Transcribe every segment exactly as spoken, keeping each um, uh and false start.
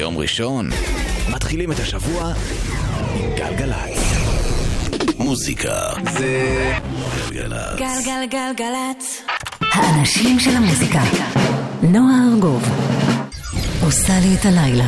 יום ראשון, מתחילים את השבוע עם גלגלצ. מוזיקה זה גלגלצ. גלגלגלגלצ. האנשים של המוזיקה. נועה ארגוב עושה לי את הלילה.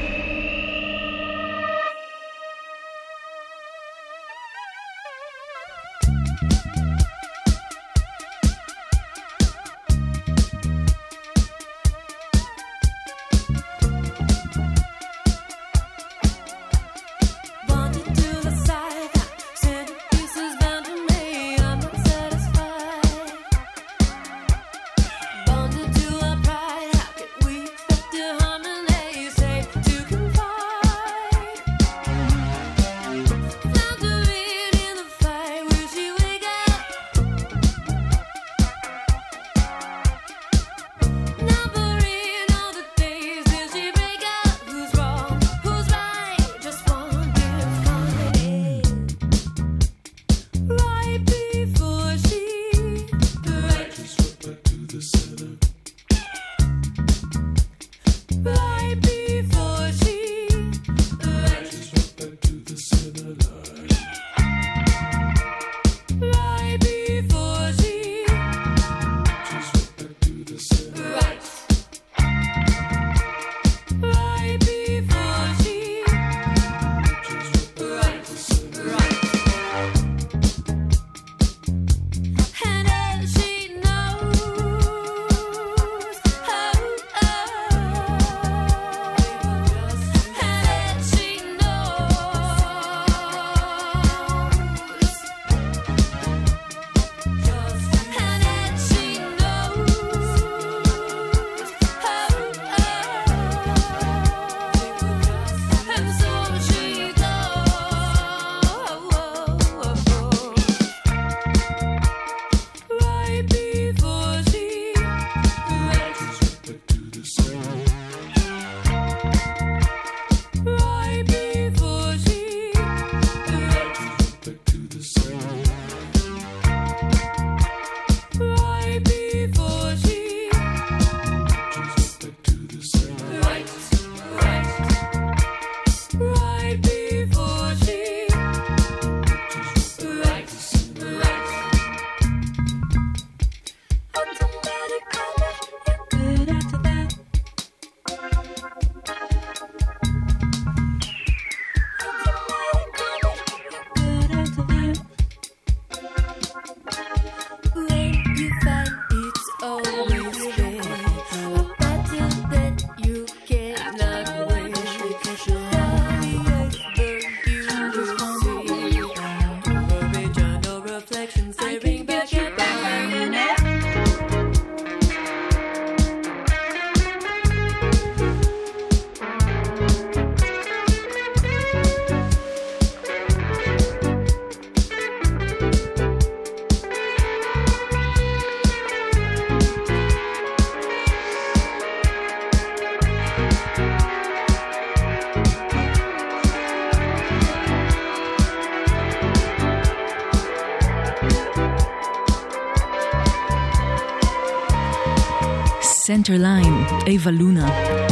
Center Line, איווה לונה.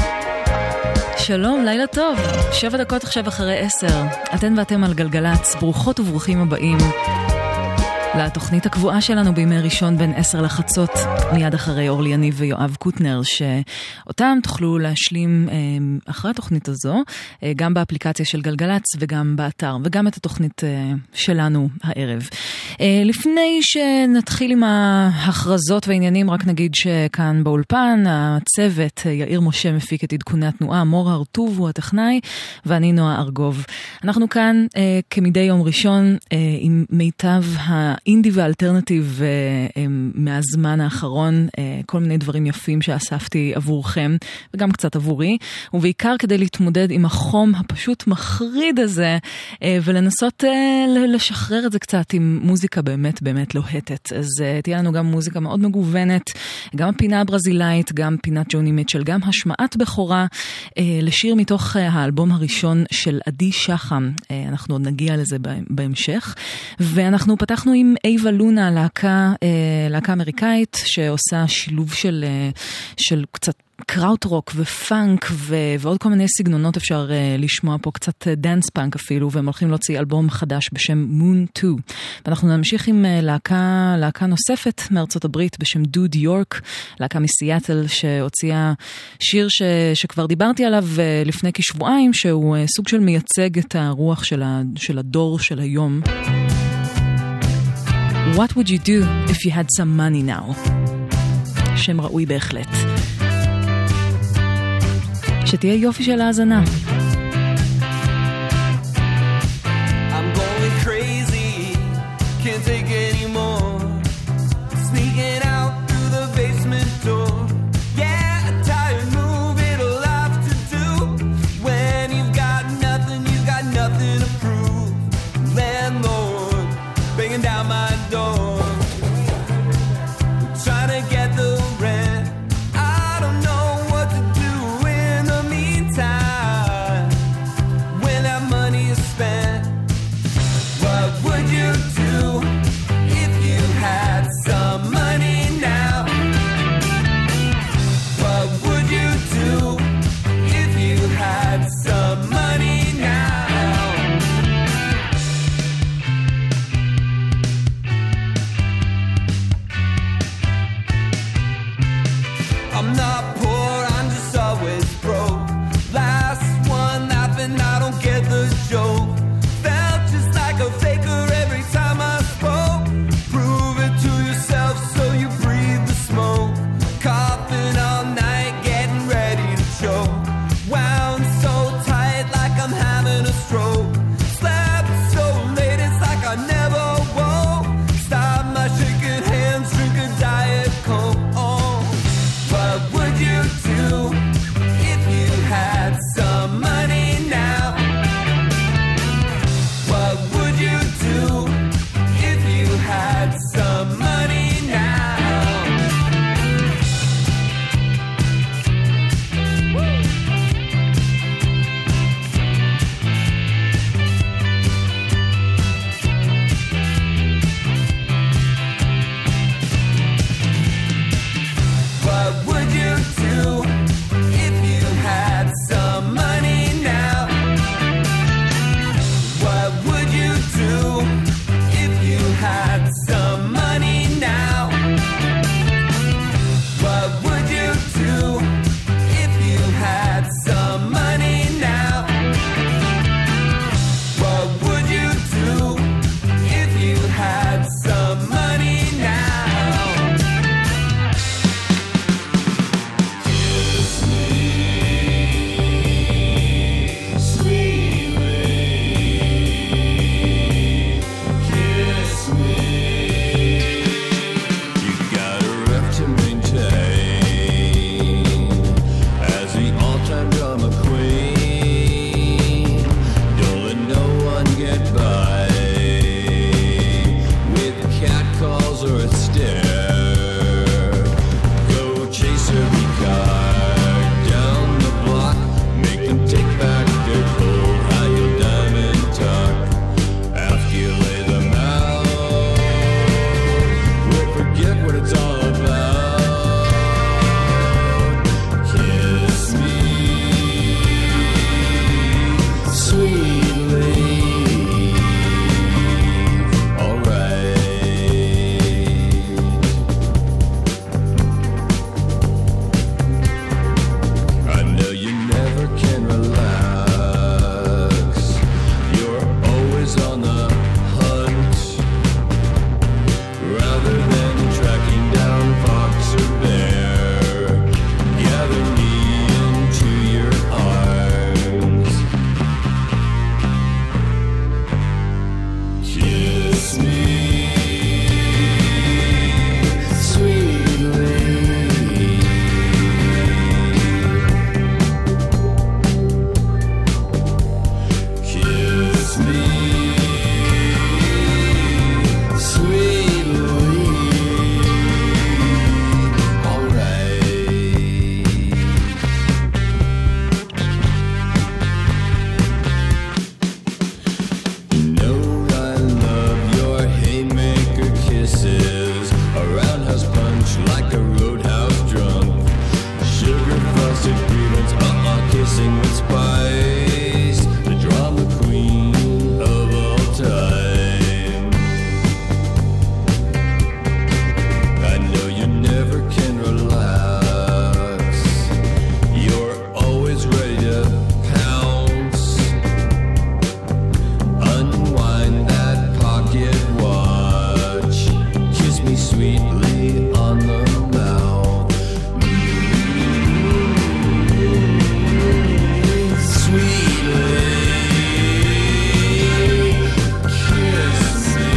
שלום, לילה טוב. שבע דקות עכשיו אחרי עשר. אתן ואתם על גלגלצ, ברוכות וברוכים הבאים לתוכנית הקבועה שלנו בימי ראשון בין עשר לחצות, מיד אחרי אורלי יניב ויואב קוטנר, שאותם תוכלו להשלים אחרי התוכנית הזו, גם באפליקציה של גלגלצ וגם באתר, וגם את התוכנית שלנו הערב. לפני שנתחיל עם ההכרזות והעניינים, רק נגיד שכאן באולפן, הצוות יאיר משה מפיק את עדכוני התנועה, מור הרטוב הוא הטכנאי, ואני נועה ארגוב. אנחנו כאן כמדי יום ראשון עם מיטב האינדי והאלטרנטיב מהזמן האחרון, כל מיני דברים יפים שאספתי עבורכם, וגם קצת עבורי, ובעיקר כדי להתמודד עם החום הפשוט מחריד הזה, ולנסות לשחרר את זה קצת עם מוזיקה באמת באמת לוהטת. אז תהיה לנו גם מוזיקה מאוד מגוונת, גם הפינה הברזילאית, גם פינת ג'וני מיטשל, גם השמעת בכורה לשיר מתוך האלבום הראשון של עדי שחם. אנחנו עוד נגיע לזה בהמשך. ואנחנו פתחנו עם עם אייבה לונה, להקה, להקה אמריקאית שעושה שילוב של, של קצת קראוט רוק ופאנק ו- ועוד כל מיני סגנונות אפשר uh, לשמוע פה, קצת דאנס פאנק אפילו, והם הולכים להוציא אלבום חדש בשם Moon שתיים. ואנחנו נמשיך עם uh, להקה, להקה נוספת מארצות הברית בשם דוד יורק, להקה מסיאטל שהוציאה שיר ש- שכבר דיברתי עליו uh, לפני כשבועיים, שהוא uh, סוג של מייצג את הרוח של, ה- של הדור של היום. What would you do if you had some money now? שם ראוי בהחלט. שתהיה יופי של האזנה. I'm going crazy, can't take anymore. Sneaking out through the basement door. Yeah, a tired move, it'll have to do. When you've got nothing, you've got nothing to prove. Landlord, banging down my door. Trying to get the rent. I don't know what to do. When that money is spent, what would you do if you had some money now? What would you do if you had some money now? I'm not poor, I'm just always broke. Last one laughing, I don't get the joke. Felt just like a faker every time I spoke. Prove it to yourself so you breathe the smoke. Coughing all night, getting ready to choke. Wound so tight like I'm having a stroke. Slept so late, it's like I never woke. Stop my shaking hands, drink a Diet Coke. Oh, what would you do if you had some money now? to pounce. Unwind that pocket watch. Kiss me sweetly on the mouth. Sweetly kiss me.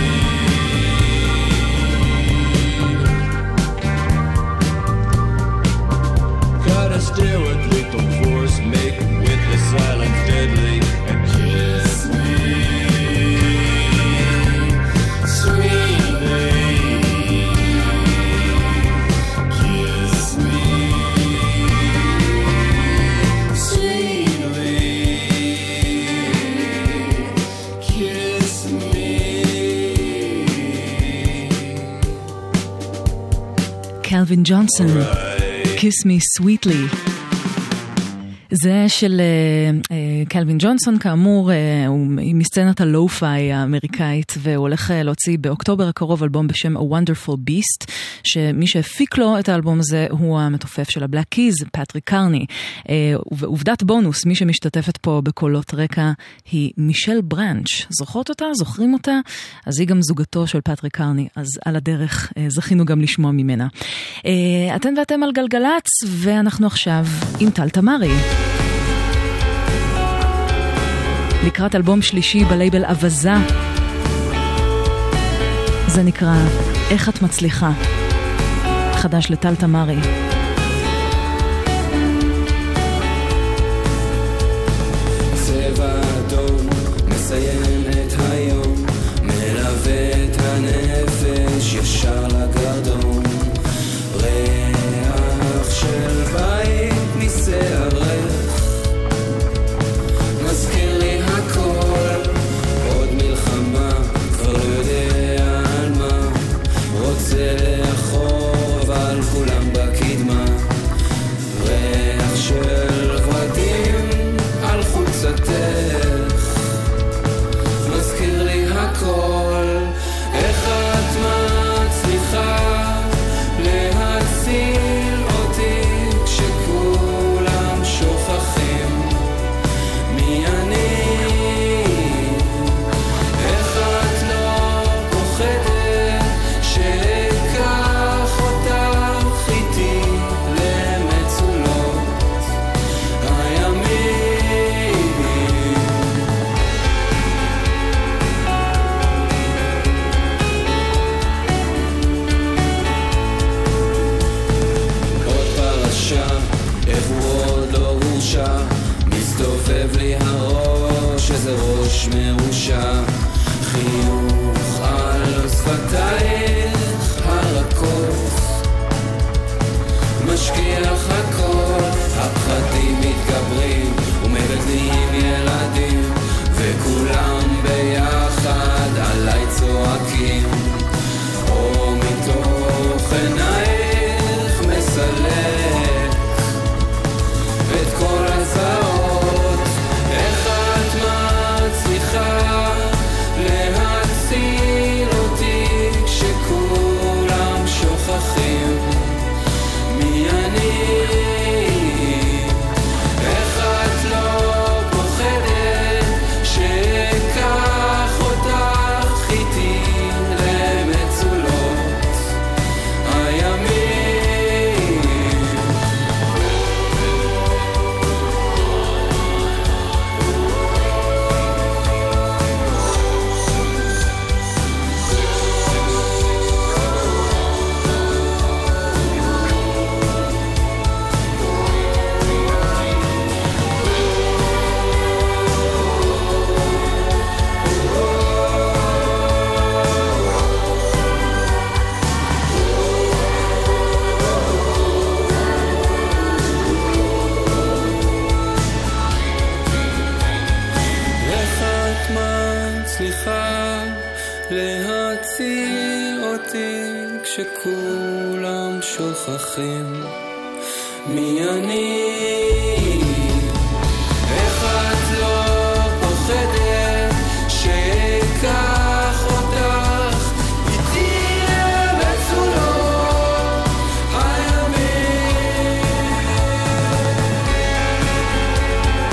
Gotta stare with lethal force, make with the silence deadly, and kiss me, sweetly, kiss me, sweetly, kiss me. Calvin Johnson, Kiss Me Sweetly. זה של קלווין ג'ונסון, כאמור, הוא מסצנת הלו-פיי האמריקאית, והוא הולך להוציא באוקטובר הקרוב אלבום בשם A Wonderful Beast, שמי שהפיק לו את האלבום הזה הוא המתופף של הבלק קיז, פטריק קרני. ועובדת בונוס, מי שמשתתפת פה בקולות רקע היא מישל ברנץ'. זוכרות אותה? זוכרים אותה? אז היא גם זוגתו של פטריק קרני, אז על הדרך זכינו גם לשמוע ממנה. אתן ואתם על גלגלץ, ואנחנו עכשיו עם טל תמרי. לקראת אלבום שלישי בלייבל אבזה. זה נקרא איך את מצליחה. חדש לטל תמרי. צבע אדום מסיים את היום, מלווה את הנפש ישר לגרדום. ריח של בית ניסה ריח, מזכיר לי הכל, עוד מלחמה, כבר לא יודע על מה, רוצה לאחור אבל כולם בקדמה. ריח של ורדים על חולצתך, מזכיר לי הכל, איך את מצליחה להציל אותי כשכולם שוכחים מי אני. איך את לא פוחדת שאקח אותך איתי למצולות הימים. עוד פרשה, איך הוא עוד לא הורשע, מסתובב לי הראש, איזה ראש מרושע. חיוך על שפתייך הרכות, משכיח הכל, הפחדים מתגברים ומגדלים ילדים, וכולם ביחד עליי צועקים. או מתוך עינייך מסלק את כל הזעות, איך את מצליחה להציל אותי כשכולם שוכחים מי אני. איך את לא פוחדת שאקח אותך איתי למצולות הימים. איך את מצליחה להציל אותי כשכולם שוכחים מי אני. איך את לא פוחדת שאקח אותך איתי למצולות הימים.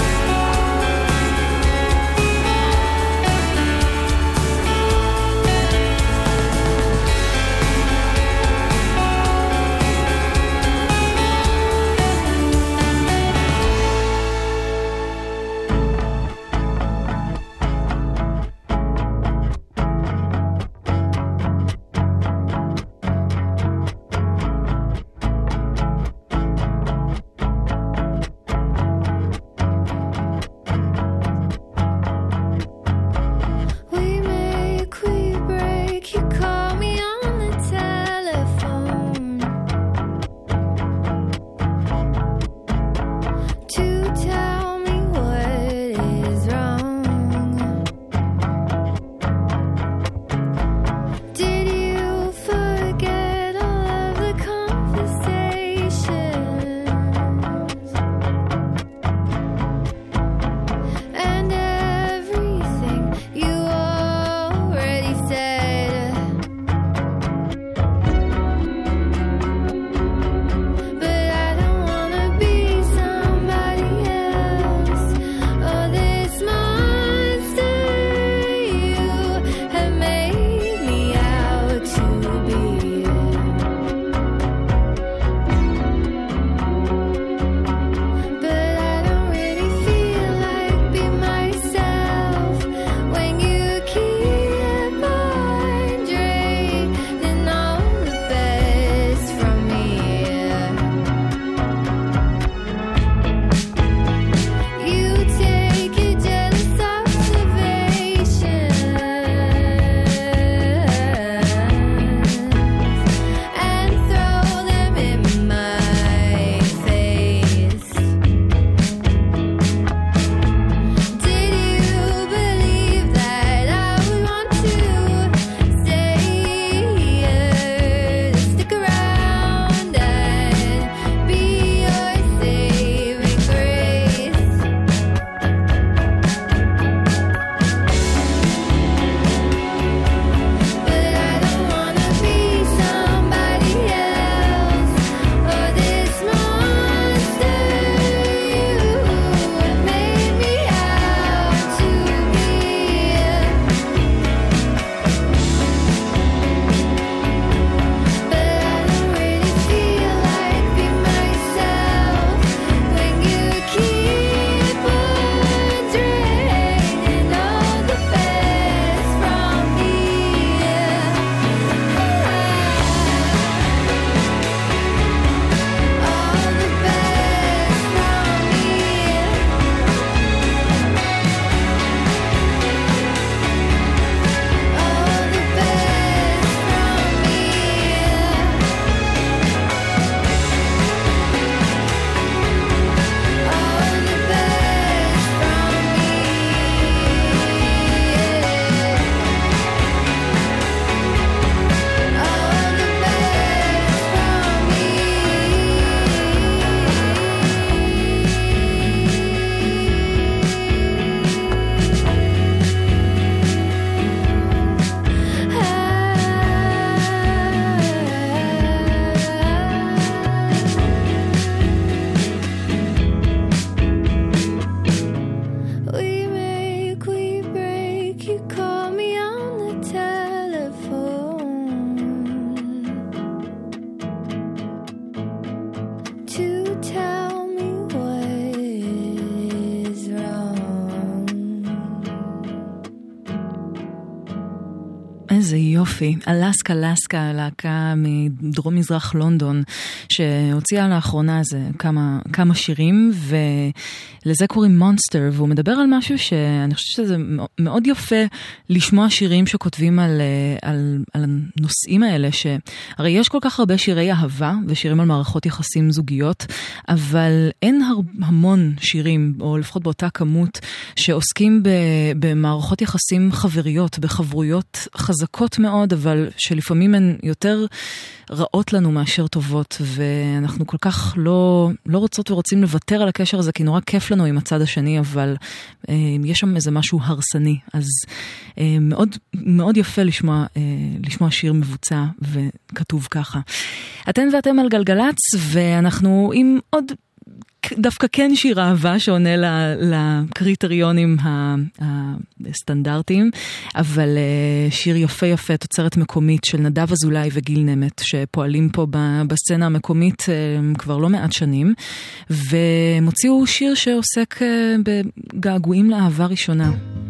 איזה יופי. אלסקה לסקה, להקה מדרום מזרח לונדון, שהוציאה לאחרונה זה כמה, כמה שירים, ולזה קוראים מונסטר, והוא מדבר על משהו שאני חושבת שזה מאוד יפה לשמוע שירים שכותבים על, על, על הנושאים האלה, שהרי יש כל כך הרבה שירי אהבה, ושירים על מערכות יחסים זוגיות, אבל אין המון שירים, או לפחות באותה כמות, שעוסקים במערכות יחסים חבריות, בחברויות חזקות מאוד, אבל שלפעמים הן יותר רעות לנו מאשר טובות, ואנחנו כל כך לא, לא רוצות ורוצים לוותר על הקשר הזה, כי נורא כיף לנו עם הצד השני, אבל אה, יש שם איזה משהו הרסני, אז אה, מאוד, מאוד יפה לשמוע, אה, לשמוע שיר מבוצע וכתוב ככה. אתן ואתם על גלגלץ, ואנחנו עם עוד דווקא כן שיר אהבה שעונה לקריטריונים הסטנדרטיים, אבל שיר יפה יפה, תוצרת מקומית של נדב אזולאי וגיל נמת, שפועלים פה בסצנה המקומית כבר לא מעט שנים, ומוציאו שיר שעוסק בגעגועים לאהבה ראשונה.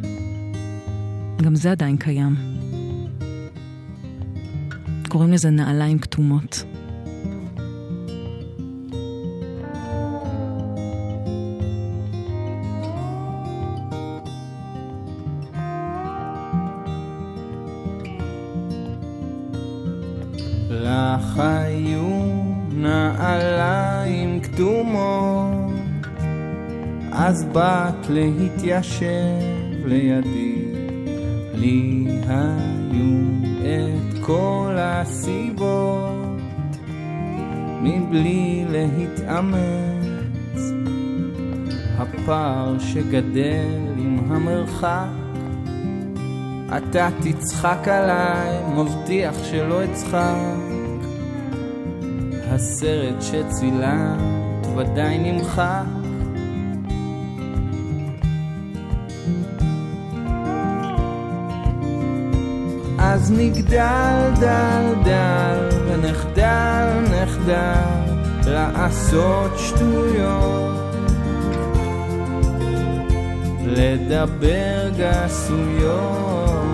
גם זה עדיין קיים. קוראים לזה נעליים כתומות. לך היו נעליים כתומות, אז באת להתיישב לידי, לי היו את כל הסיבות, מבלי להתאמץ, הפער שגדל עם המרחק, אתה תצחק עליי, מבטיח שלא אצחק, הסרט שצילמת ודאי נמחק, אז נגדל דל דל ונחדל נחדל לעשות שטויות, לדבר גסויות,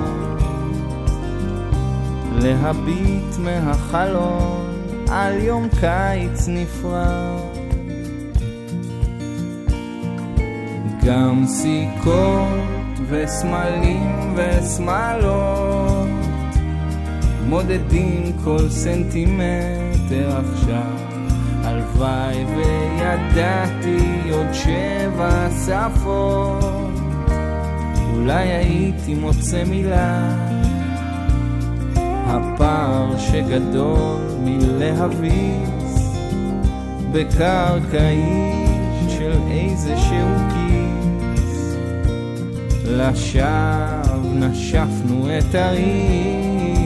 להביט מהחלון על יום קיץ נפרד, גם סיכות וסמלים וסמלות מודדים כל סנטימטר עכשיו, הלוואי וידעתי עוד שבע שפות, אולי הייתי מוצא מילה, הפער שגדול מלהביס בקרקעית של איזה שהוא כיס, לשווא נשפנו את הריס,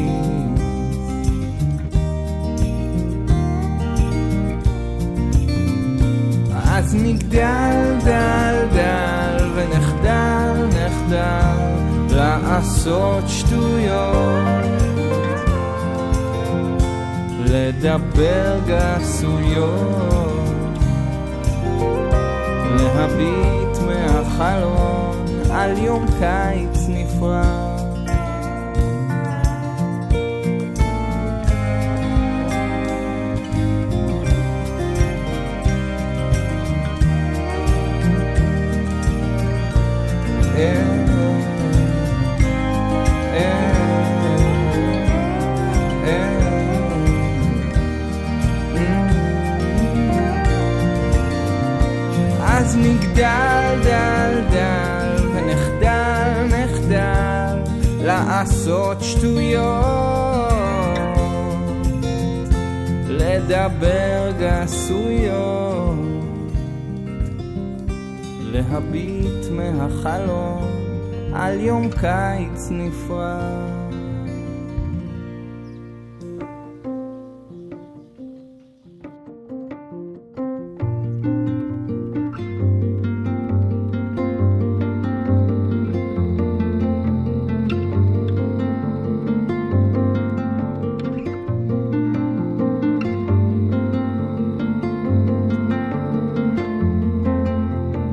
אז נגדל דל דל ונחדל נחדל לעשות שטויות, לדבר גסויות, להביט מהחלון על יום קיץ נפרד, אז נגדל דל דל ונחדל נחדל לעשות שטויות, לדבר גסויות, להביט מהחלון על יום קיץ נפרד.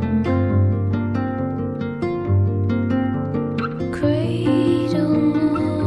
Cradle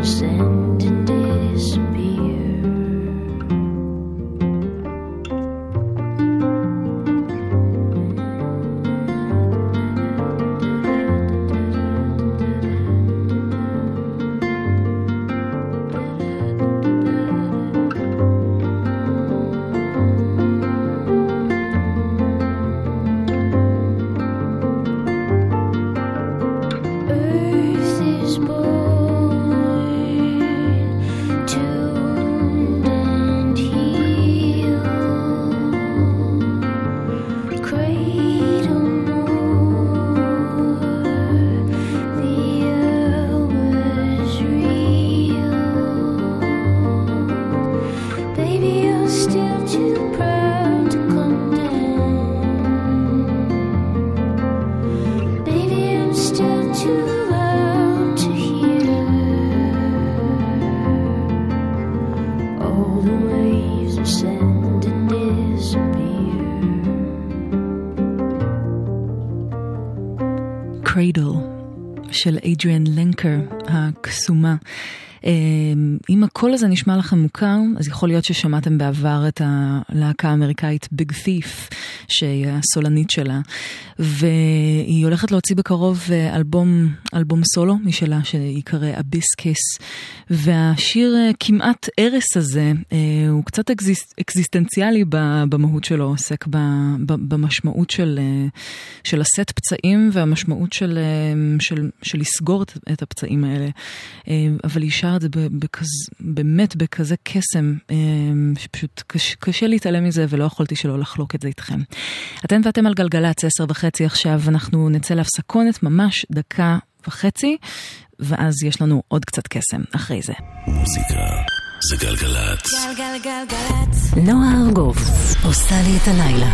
ascend and disappear. של אדריאן לנקר הקסומה. אם הקול הזה נשמע לכם מוכר, אז יכול להיות ששמעתם בעבר את הלהקה האמריקאית ביג תיף, שהיא הסולנית שלה, והיא הולכת להוציא בקרוב אלבום, אלבום סולו משלה שיקרא אביסקיס, והשיר כמעט ארס הזה הוא קצת אקזיס, אקזיסטנציאלי במהות שלו, עוסק במשמעות של, של לשאת פצעים והמשמעות של, של, של לסגור את הפצעים האלה, אבל היא שר את זה בכז, באמת בכזה קסם, שפשוט קשה, קשה להתעלם מזה, ולא יכולתי שלא לחלוק את זה איתכם. אתם ואתם על גלגלץ, עשר וחצי עכשיו, אנחנו נצא להפסקונת ממש דקה וחצי, ואז יש לנו עוד קצת קסם אחרי זה. מוזיקה זה גלגלץ. גלגלגלגלץ. נועה ארגוב עושה לי את הלילה.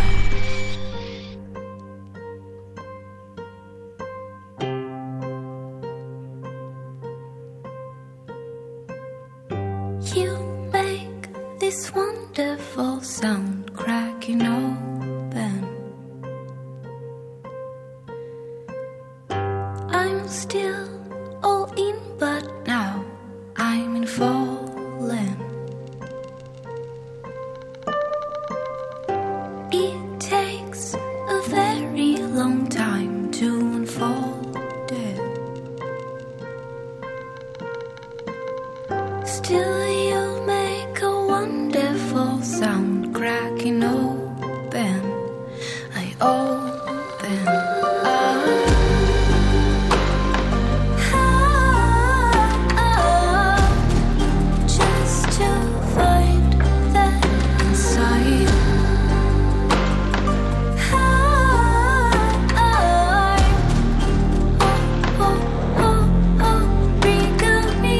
You make this wonderful sound cracking open. I'm still all in, but now I'm in falling. It takes a very long time to unfold it. Still you make a wonderful sound cracking open. I open up. Just to find that inside. Oh, oh, oh, oh, bring me.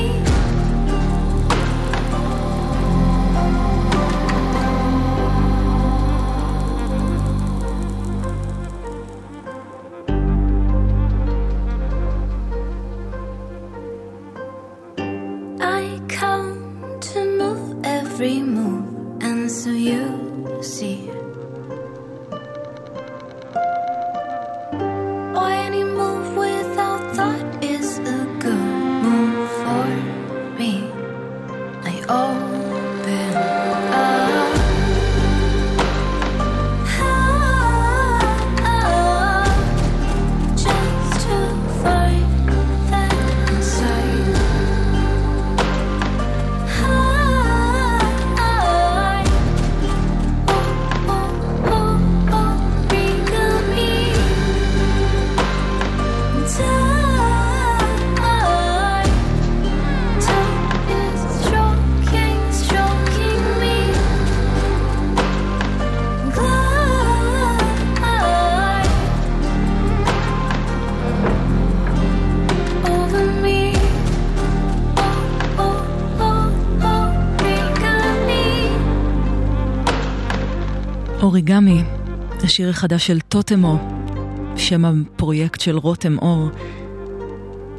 I come to move every move, and so you see. Any move without thought is a good move for me. I open up. Just to find that inside. Oh, oh, oh, oh, bring me. Time, time is stroking, stroking me. Glide over me. Oh, oh, oh, oh, bring me. אוריגמי, השיר החדש של טוטמו, שם הפרויקט של רותם אור,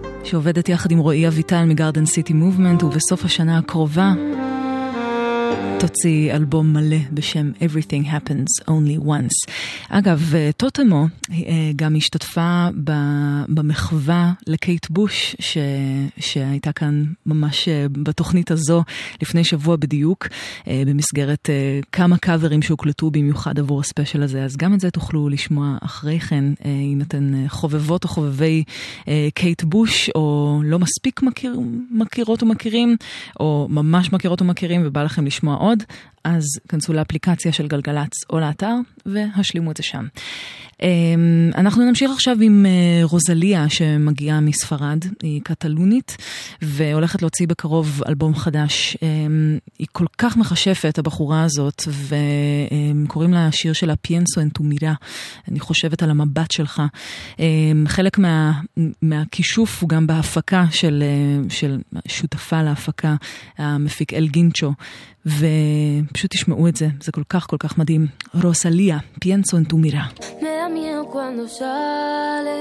שעובדת יחד עם רועי אביטל מגרדן סיטי מובמנט, ובסוף השנה הקרובה תוציא אלבום מלא בשם Everything Happens Only Once. אגב, טוטמו גם השתתפה במחווה לקייט בוש ש... שהייתה כאן ממש בתוכנית הזו לפני שבוע בדיוק, במסגרת כמה קאברים שהוקלטו במיוחד עבור הספיישל הזה. אז גם את זה תוכלו לשמוע אחרי כן, אם אתן חובבות או חובבי קייט בוש, או לא מספיק מכיר, מכירות או מכירים, או ממש מכירות או מכירים ובא לכם לשמוע עוד, אז כנסו לאפליקציה של גלגלץ או לאתר והשלימו את זה שם. אנחנו נמשיך עכשיו עם רוזליה שמגיעה מספרד, היא קטלונית והולכת להוציא בקרוב אלבום חדש. היא כל כך מחשפת הבחורה הזאת, וקוראים לה השיר שלה פינסו en tu mira, אני חושבת על המבט שלך. חלק מה, מהכישוף הוא גם בהפקה של, של שותפה להפקה, המפיק אל גינצ'ו, ופשוט תשמעו את זה, זה כל כך כל כך מדהים. רוזליה, פינסו en tu mira. Me da miedo cuando sale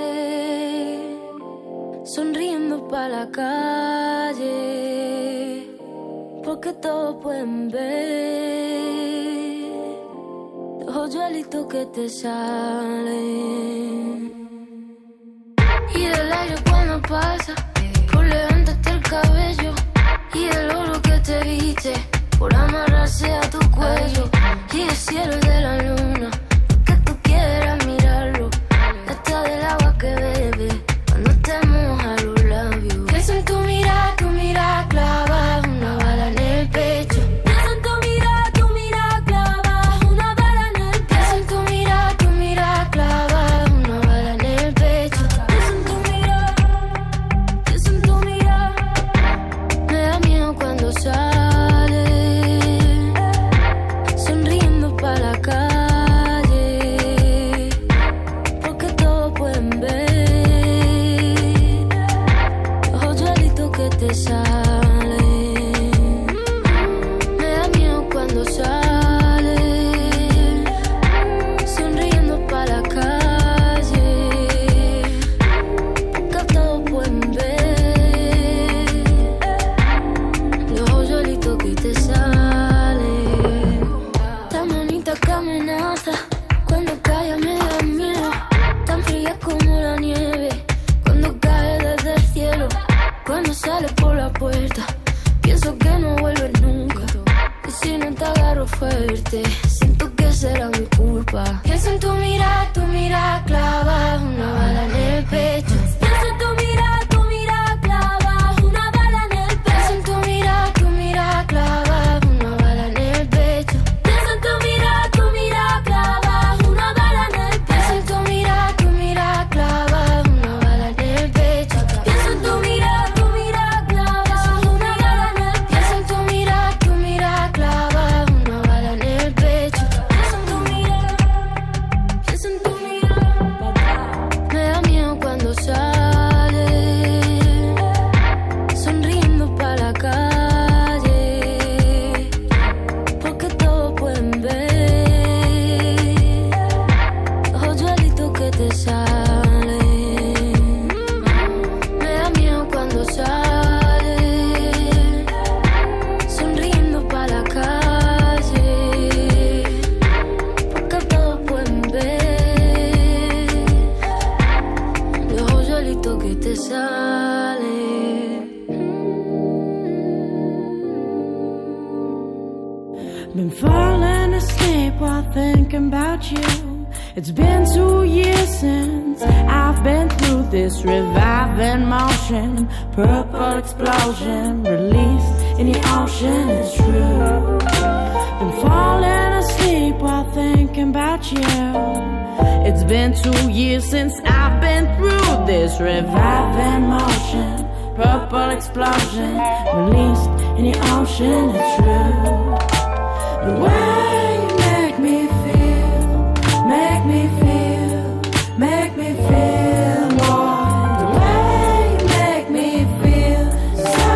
sonriendo pa' la calle, porque todos pueden ver los hoyuelitos que te salen. Y el aire cuando pasa por levantarte el cabello, y el oro que te viste por amarrarse a tu cuello, y el cielo de la luna que tú quieras mirarlo, hasta del agua que bebe cuando te moja los labios. Pienso en tu mirada, tu mirada clava una bala en el pecho. Pienso en tu mirada, tu mirada clava una bala en el pecho. Pienso en tu mirada, tu mirada clava una bala en el pecho. Pienso en tu mirada, pienso en tu mirada. Me da miedo cuando sale sonriendo pa' la calle, porque todos pueden ver los hoyuelitos que te salen. Me da miedo cuando sale sonriendo pa' la calle, porque todos pueden ver los hoyuelitos que te salen. Tan bonita que amenaza, cuando cae me da miedo. Tan fría como la nieve, cuando cae desde el cielo. Cuando sale por la puerta, pienso que no vuelves nunca. Y si no te agarro fuerte, siento que será mi culpa. Pienso en tu mirada, tu mirada clava una bala en el pecho. Pienso en tu mirada, tu mirada clava una bala en el pecho. Pienso en tu mirada, tu mirada clava una bala en el pecho. Pienso en tu mirada, tu mirada clava una bala en el pecho. Pienso en tu mirada, tu mirada clava una bala en el pecho. Pienso en tu mirada, tu mirada clava una bala en el pecho. Pienso en tu mirada, tu mirada clava una bala en el pecho. Pienso en tu mirada, pienso en tu mirada. Me da miedo cuando sale sonriendo pa' la calle, porque todos pueden ver los hoyuelitos que te salen. Me da miedo cuando sale sonriendo pa' la calle, porque todos pueden ver los hoyuelitos que te salen. Been falling asleep while thinking about you. It's been two years since I've been through this reviving motion, purple explosion, released in the ocean. It's true. Been falling asleep while thinking about you. It's been two years since I've been through this reviving motion, purple explosion, released in the ocean. It's true. The way you make me feel, make me feel, make me feel more. The way you make me feel so.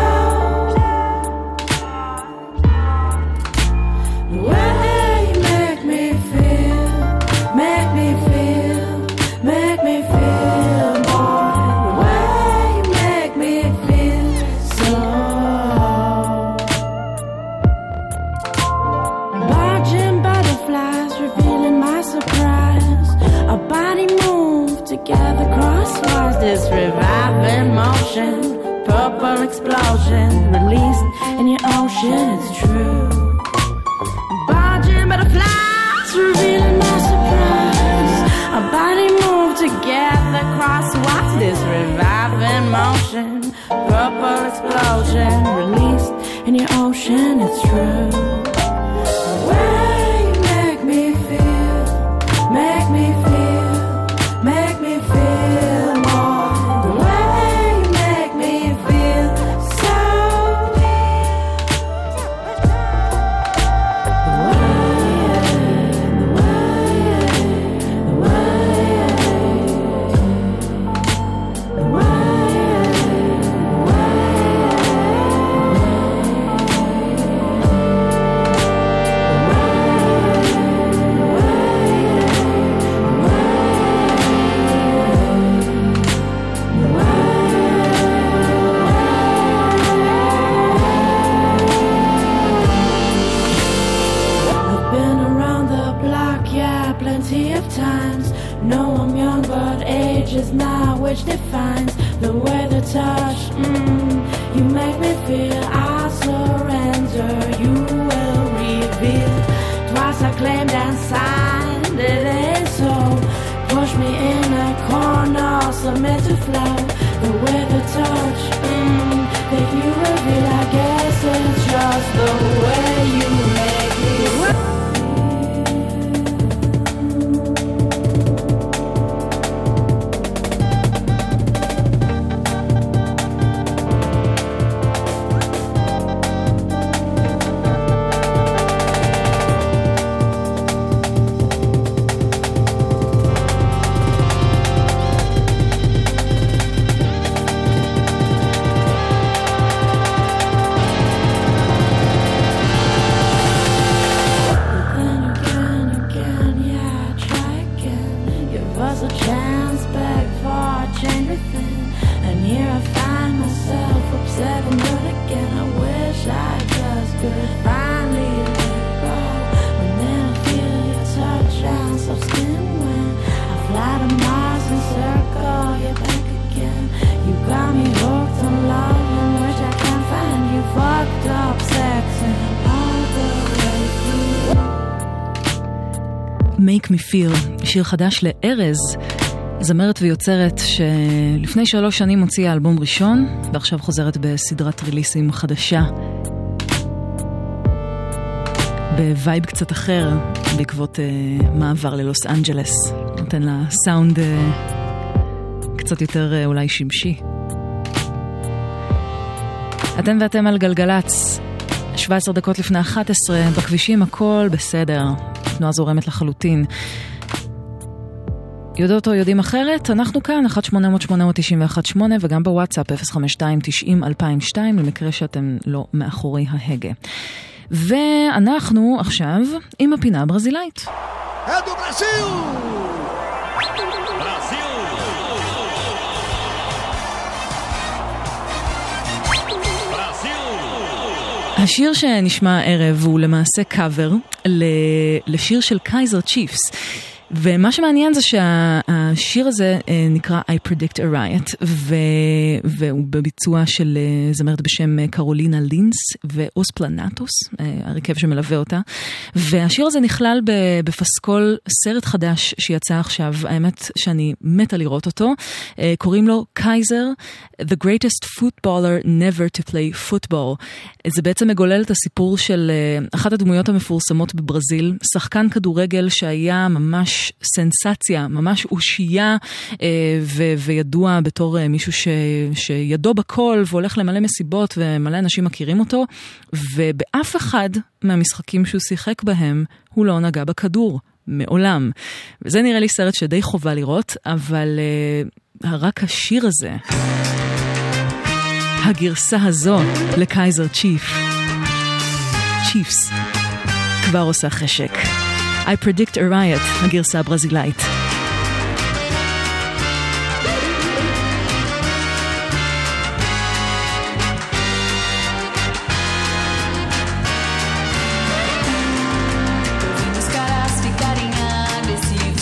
The way you make me feel, make me feel, make me feel more. The way you make me feel so. motion, purple explosion, released in your ocean, it's true. Barging butterflies, revealing no surprise. Our body moved together, cross watch this reviving motion, purple explosion, released in your ocean, it's true. The way you make me feel, make me feel, make me feel more. The way you make me feel so. The way, the way, the way, the way. Times. No, I'm young, but age is not which defines the way the touch. Mm, you make me feel I surrender. You will reveal. Twice I claimed and signed. It ain't so. Push me in a corner, submit to flow. The way the touch mm, that you reveal. I guess it's just the way you make me. Make Me Feel, שיר חדש לארז, זמרת ויוצרת שלפני שלוש שנים הוציאה אלבום ראשון, ועכשיו חוזרת בסדרת ריליסים חדשה. בווייב קצת אחר, בעקבות uh, מעבר ללוס אנג'לס. נותן לה סאונד uh, קצת יותר uh, אולי שמשי. אתם ואתם על גלגלץ, שבע עשרה דקות לפני אחת עשרה, בכבישים הכל בסדר. תנועה זורמת לחלוטין. יודעות או יודעים אחרת? אנחנו כאן, אחת שמונה אפס אפס שמונה תשע אחת שמונה, וגם בוואטסאפ אפס חמש שתיים תשעים אלפיים ושתיים, למקרה שאתם לא מאחורי ההגה. ואנחנו עכשיו עם הפינה הברזילאית. אדו ברזיל! השיר שנשמע הערב הוא למעשה קאבר לשיר של קייזר צ'יפס. ומה שמעניין זה שהשיר הזה נקרא I Predict a Riot, והוא בביצוע של זמרת בשם קרולינה לינס ואוס פלנטוס, הרכב שמלווה אותה. והשיר הזה נכלל בפסקול סרט חדש שיצא עכשיו, האמת שאני מתה לראות אותו, קוראים לו קייזר, The Greatest Footballer Never to Play Football. זה בעצם מגולל את הסיפור של אחת הדמויות המפורסמות בברזיל, שחקן כדורגל שהיה ממש סנסציה, ממש אושייה ו- וידוע בתור מישהו ש- שידו בכל והולך למלא מסיבות ומלא אנשים מכירים אותו, ובאף אחד מהמשחקים שהוא שיחק בהם הוא לא נגע בכדור, מעולם. וזה נראה לי סרט שדי חובה לראות, אבל uh, רק השיר הזה, הגרסה הזו לקייזר צ'יף, צ'יפס, כבר עושה חשק. I Predict a Riot, הגרסה הברזילאית.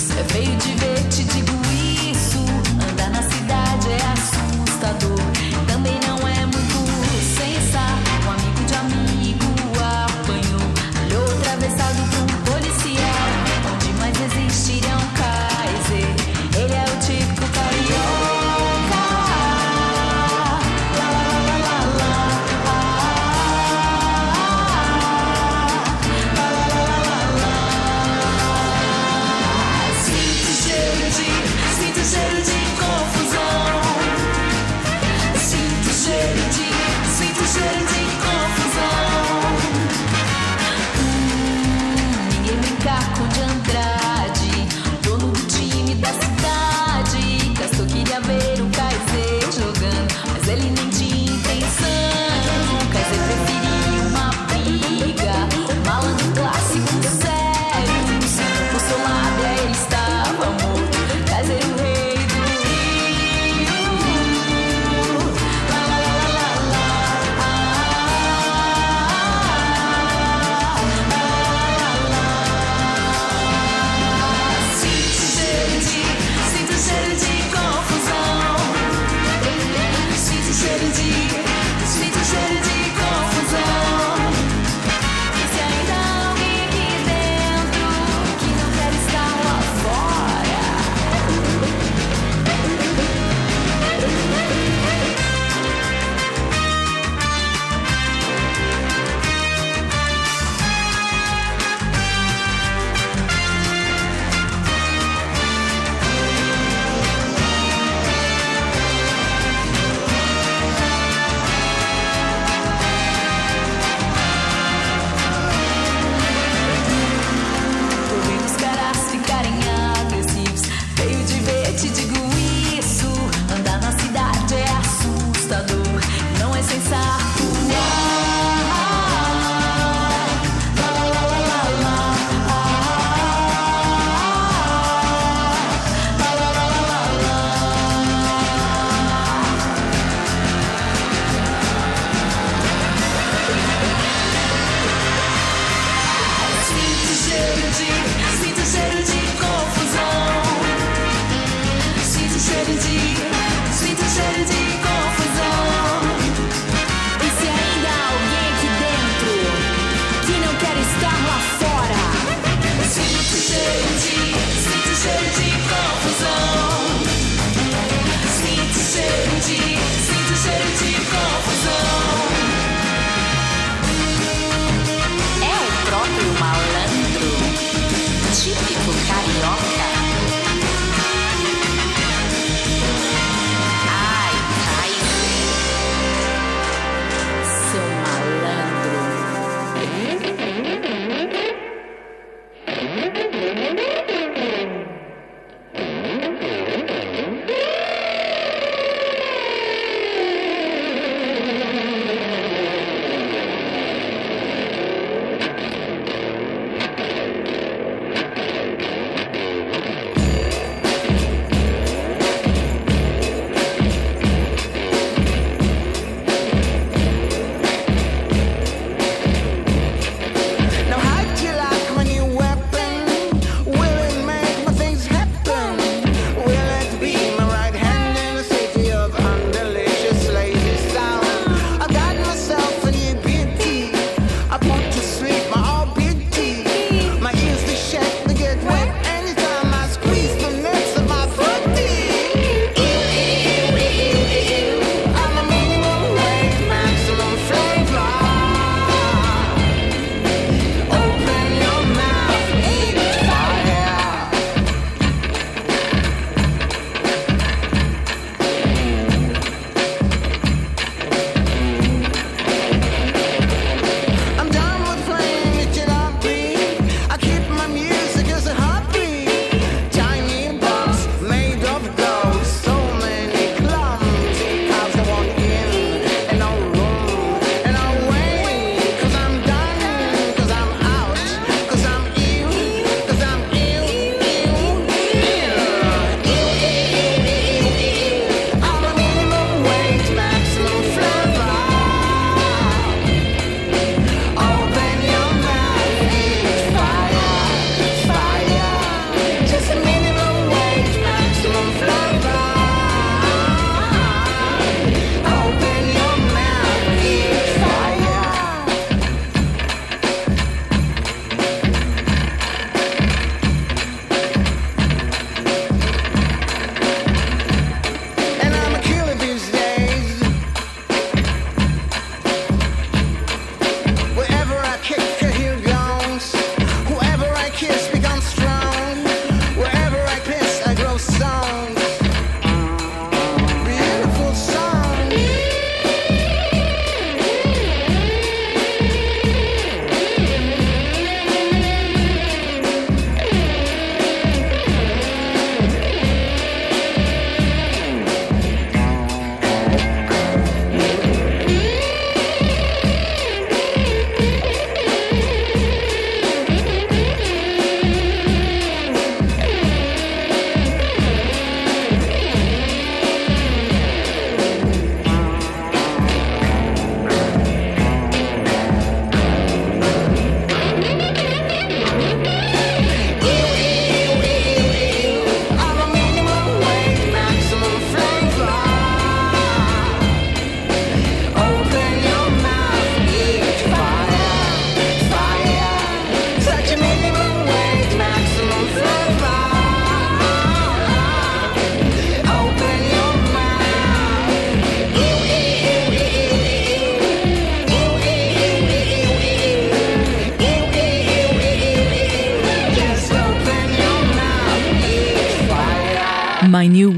Feio de ver, te digo isso. Andar na cidade é assustador. cheiro de confusão. Hum, ninguém brincar com de Andrade, dono do time da cidade. Castor queria ver o Kaiser jogando, mas ele nem tinha intenção. O Kaiser preferia uma briga, malandro clássico sério. Por seu lado ele estava morto, Kaiser o rei do Rio. Lá, lá, lá, lá, lá, ah,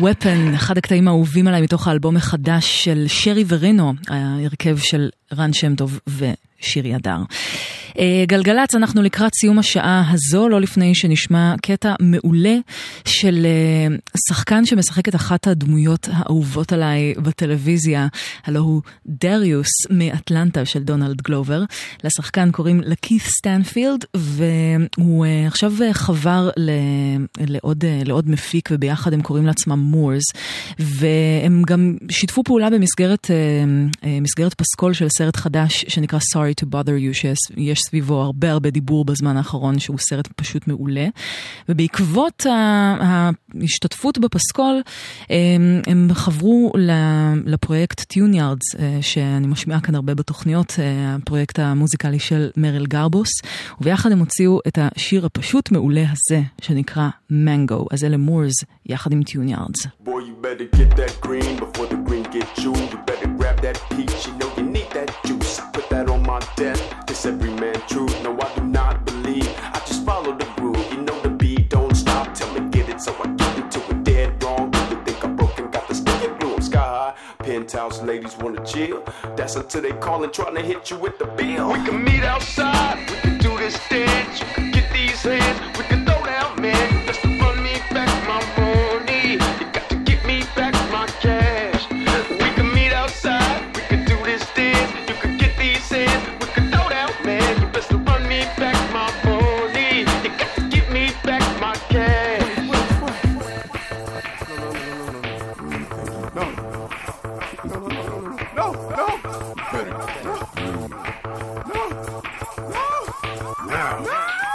Weapon, אחד הקטעים האהובים עליי מתוך האלבום החדש של שרי ורינו, ההרכב של רן שם טוב ושירי הדר. גלגלץ, אנחנו לקראת סיום השעה הזו, לא לפני שנשמע קטע מעולה של שחקן שמשחק את אחת הדמויות האהובות עליי בטלוויזיה, הלא הוא דריוס מאטלנטה של דונלד גלובר. לשחקן קוראים לקית סטנפילד, והוא עכשיו חבר לעוד, לעוד מפיק, וביחד הם קוראים לעצמם מורס, והם גם שיתפו פעולה במסגרת מסגרת פסקול של סרט חדש שנקרא Sorry to Bother You, שיש סביבו הרבה הרבה דיבור בזמן האחרון, שהוא סרט פשוט מעולה. ובעקבות ההשתתפות בפסקול, הם חברו לפרויקט טיוניארדס, שאני משמיעה כאן הרבה בתוכניות, הפרויקט המוזיקלי של מריל גרבוס, וביחד הם הוציאו את השיר הפשוט מעולה הזה, שנקרא מנגו. אז אלה מורס, יחד עם טיוניארדס. Boy, you better get that green before the green get you. You better grab that peach, you know you need that juice. Put that on my desk, this every man truth. No, I do not believe, I just follow the groove. You know the beat don't stop, tell me get it, so I get into it dead wrong. You think I'm broken, got the sticky blue. I'm sky high, penthouse ladies wanna chill. That's until they callin', trying to hit you with the bill. We can meet outside, we can do this dance. You can get these hands, we can throw down, man. Just to run me back my money. You got to get me back my cash. We can meet outside, we can do this dance. You can get these hands, we can throw down, man. You best to run me back my money. You got to get me back my cash. No, no, no, no, no, no, no, better, no, no, no, no.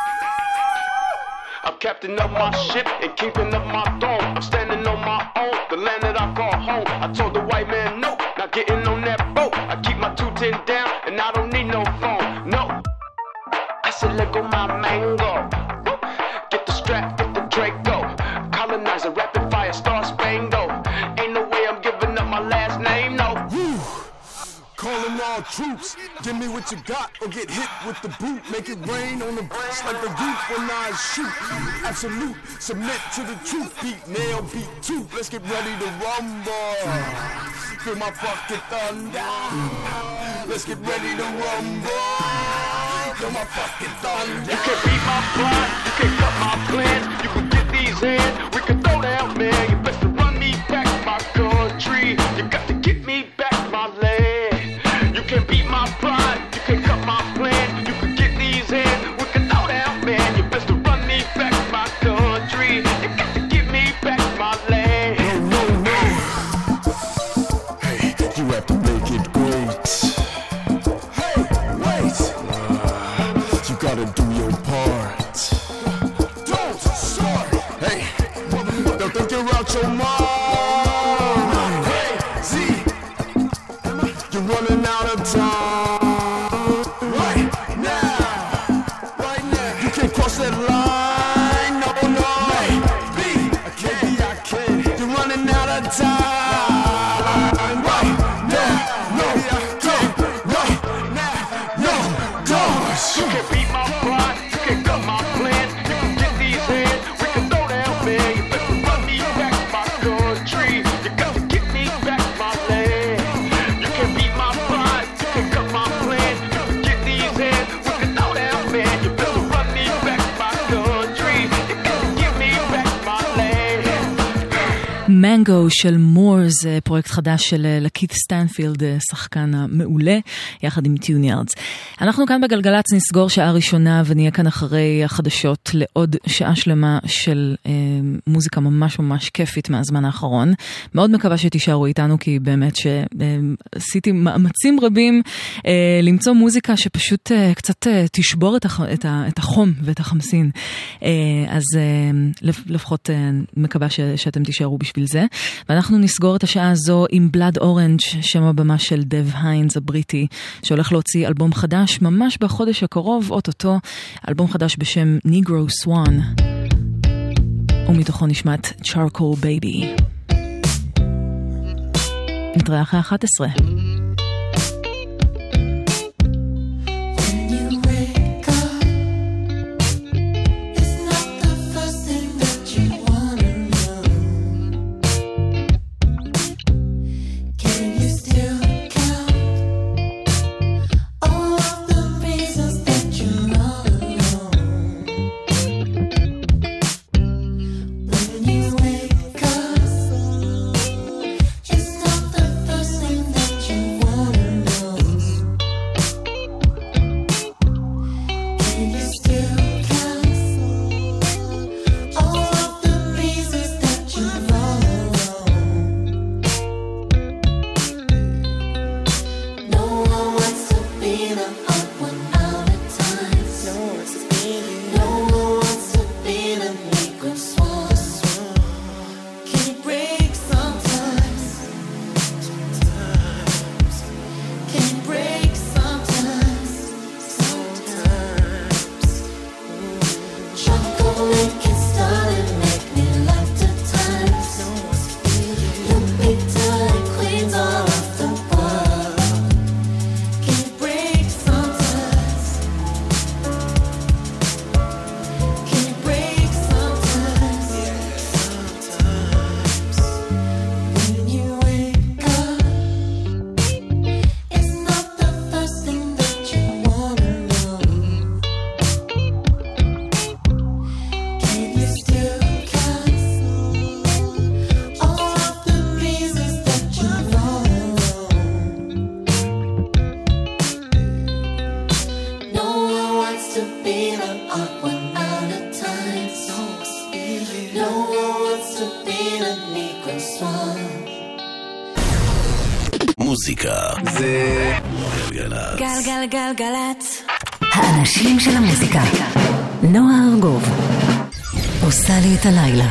I'm captain of my ship and keeping up my throne. I'm standing on my own, the land that I call home. I told the white man no, not getting on that boat. I keep my two ten down and I don't need no phone, no. I said let go my mango. Get the strap, get the Draco. Colonizer, rapid fire, star spangled. Ain't no way I'm giving up my last name, no. Woo. Calling all troops, give me what you got or get hit with the boot. Make it rain on the bricks like the roof when I shoot. Absolute, submit to the truth. Beat, nail, beat, tooth. Let's get ready to rumble. Feel my fucking thunder. Let's get ready to rumble. Feel my fucking thunder. You can beat my plot, you can cut my plans. You can get these hands, we can throw down, man. You best to run me back my country. You got to get me back my land. You can beat my pride, you can cut my plan. You can get these hands, we can throw down, man. You best to run me back my country. You got to get me back my land. No, no, no. Hey, you have to make it great. Hey, wait. You gotta do your part. Don't start. Hey, don't think you're out your mind. Hey, Z, you're running out of time. Right now, right now, you can't cross that line. No, no. Hey, B, I can't be, I can't. You're running out of time. Right now, no, don't. Right now, no, don't. You can beat my pride, you can cut my plans. You can get these hands, we can throw down, man. You better run me back my country. You got to get me back my land. You can beat my pride, you can cut my plans. You can get these hands, we can throw down, man. You better run me back my country. You got to get me back my land. מנגו של מורס, פרויקט חדש של לקית סטנפילד, שחקן המעולה, יחד עם טיוניארדס. אנחנו כאן בגלגלץ נסגור שעה ראשונה ונהיה כאן אחרי החדשות לעוד שעה שלמה של אה, מוזיקה ממש ממש כיפית מהזמן האחרון. מאוד מקווה שתישארו איתנו, כי באמת שעשיתי מאמצים רבים אה, למצוא מוזיקה שפשוט אה, קצת אה, תשבור את, הח, את, ה, את החום ואת החמסין. אה, אז אה, לפחות אה, מקווה ש, שאתם תישארו בשביל זה. ואנחנו נסגור את השעה הזו עם בלאד אורנג', שם הבמה של דב היינס הבריטי, שהולך להוציא אלבום חדש ממש בחודש הקרוב, אוטוטו, אלבום חדש בשם ניגרו סואן, ומתוכו נשמעת צ'ארקול בייבי. נתראה אחרי אחת עשרה. המוזיקה זה גלגלצ. גלגלגלגלצ. האנשים של המוזיקה. נועה ארגוב עושה לי את הלילה.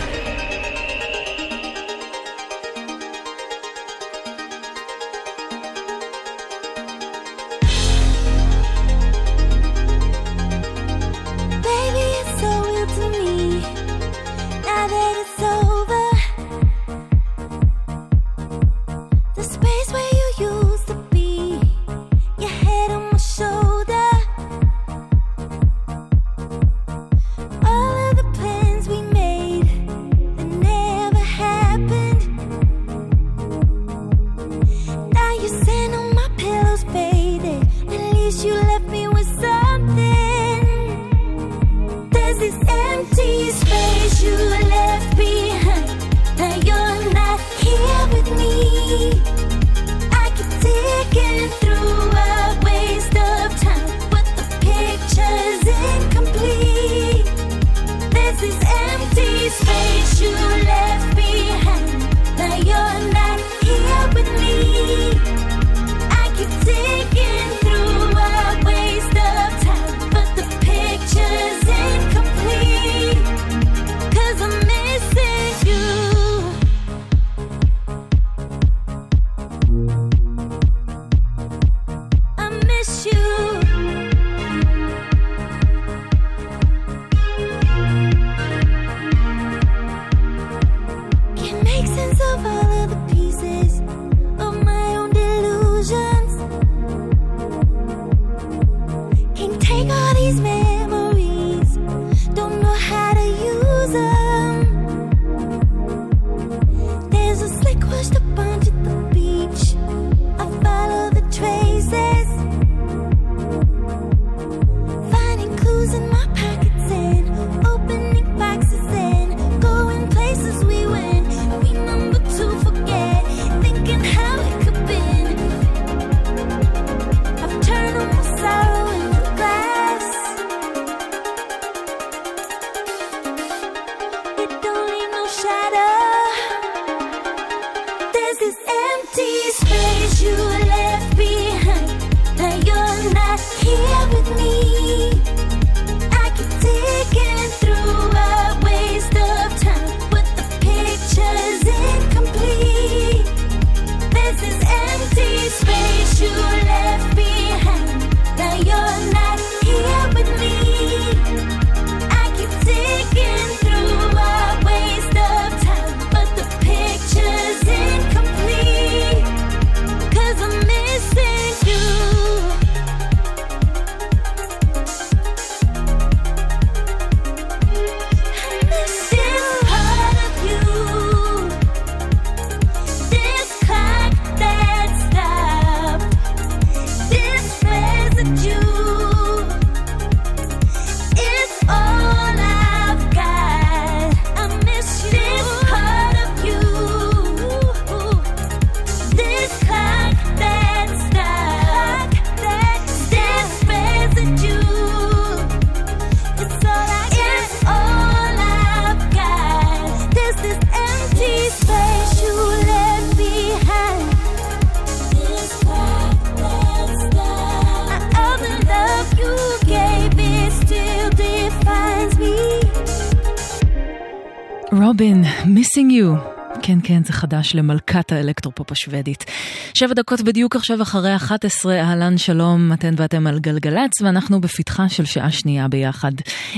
רובין, Missing You. כן, כן, זה חדש למלכת האלקטרופופ השוודית. שבע דקות בדיוק עכשיו אחרי אחת עשרה, אהלן שלום, אתן ואתם על גלגלץ, ואנחנו בפתחה של שעה שנייה ביחד.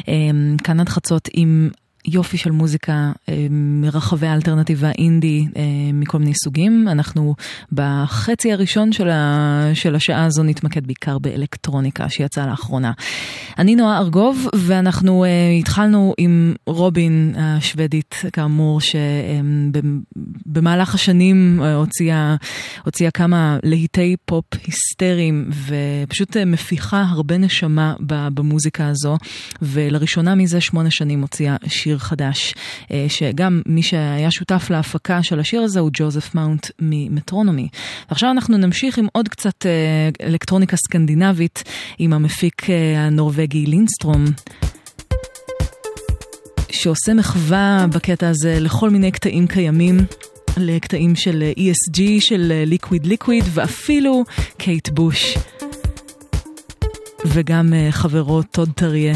כאן עד חצות עם יופי של מוזיקה מרחבי האלטרנטיבה אינדי מכל מיני סוגים. אנחנו בחצי הראשון של, ה... של השעה הזו נתמקד בעיקר באלקטרוניקה שיצאה לאחרונה. אני נועה ארגוב, ואנחנו uh, התחלנו עם רובין השוודית, כאמור, שבמהלך השנים uh, הוציאה, הוציאה כמה להיטי פופ היסטריים, ופשוט uh, מפיחה הרבה נשמה במוזיקה הזו, ולראשונה מזה שמונה שנים הוציאה שיר חדש, uh, שגם מי שהיה שותף להפקה של השיר הזה הוא ג'וזף מאונט ממטרונומי. ועכשיו אנחנו נמשיך עם עוד קצת uh, אלקטרוניקה סקנדינבית, עם המפיק uh, הנורווגי לינסטרום, שעושה מחווה בקטע הזה לכל מיני קטעים קיימים, לקטעים של E S G, של ליקוויד ליקוויד, ואפילו קייט בוש. וגם חברו טוד טריה.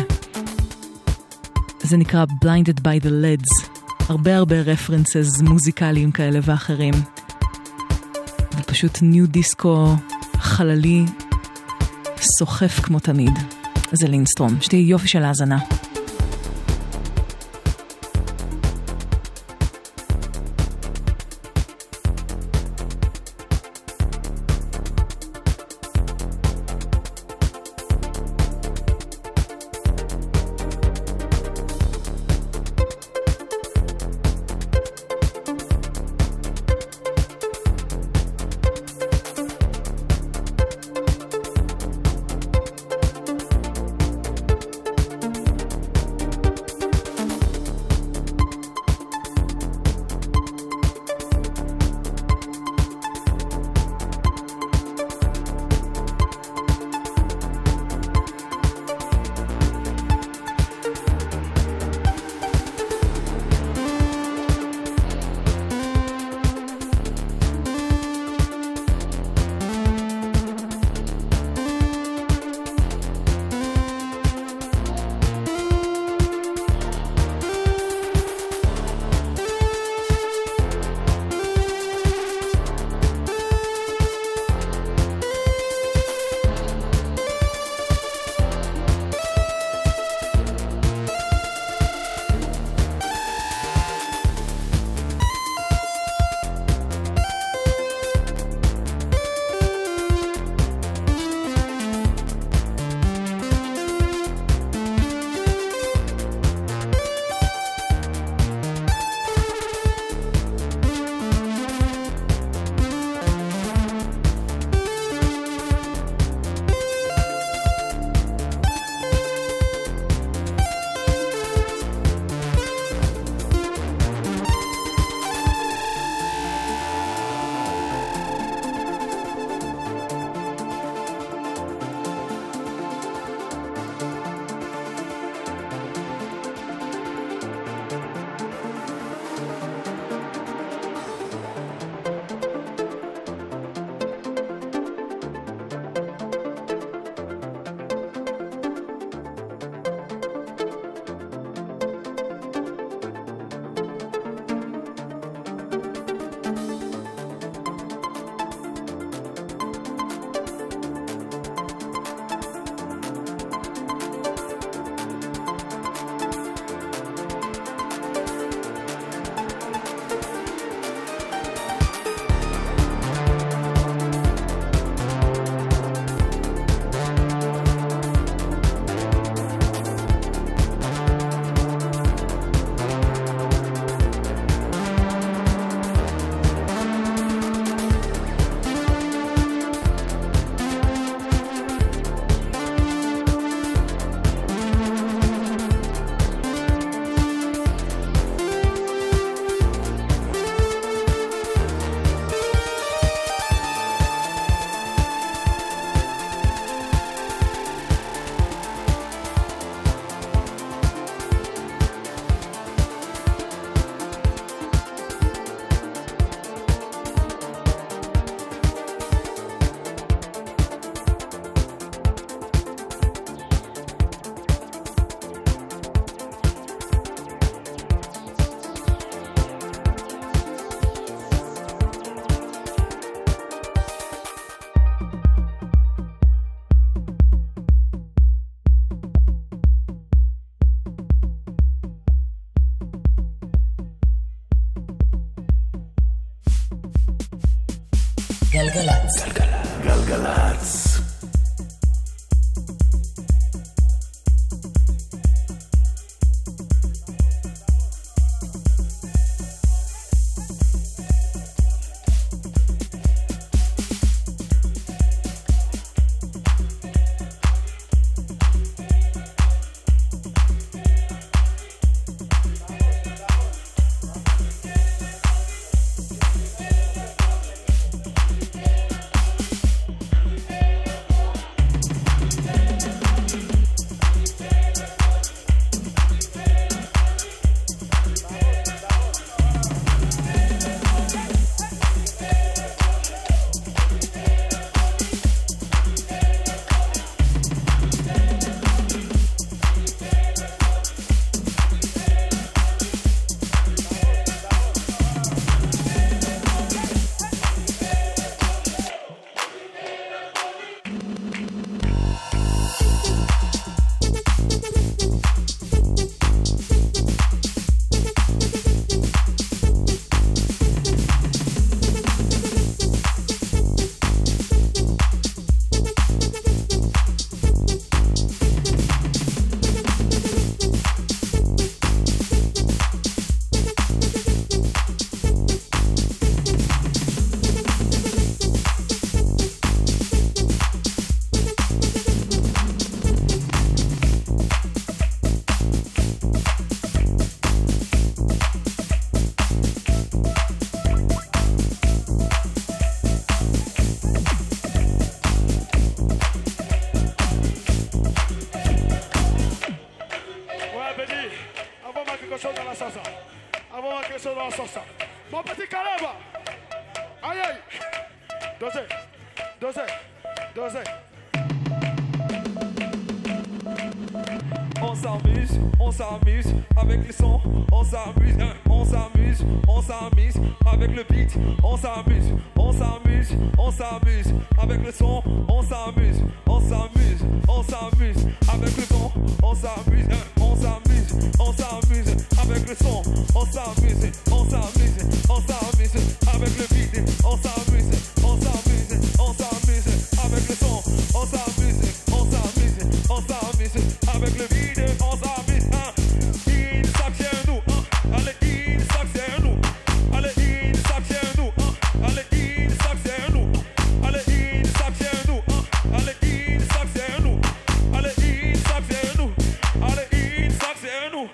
זה נקרא Blinded by the Leads. הרבה הרבה רפרנסס מוזיקליים כאלה ואחרים. ופשוט ניו דיסקו חללי סוחף כמו תמיד. זה לינסטרום. שתהיה יופי של האזנה. גלגלצ. גלגלצ. sort ça. Mon petit Caleb. Aïe aïe. Dosez, dosez, dosez. On s'amuse, on s'amuse avec le son, on s'amuse, hein, on s'amuse, on s'amuse avec le beat, on s'amuse, on s'amuse, on s'amuse avec le son, on s'amuse, on s'amuse, on s'amuse avec le son, on s'amuse, hein, on s'amuse, on s'amuse avec le son, on s'amuse, on s'amuse, on s'amuse avec le beat, on s'amuse, on s'amuse, on s'amuse avec le son, on s'amuse, on s'amuse, on s'amuse avec le beat. On s'amuse, hein. Il sac chez nous, hein. Allez, il sac chez nous. Allez, il sac chez nous, hein. Allez, il sac chez nous. Allez, il sac chez nous, hein. Allez, il sac chez nous. Allez, il sac chez nous. Allez, il sac chez nous.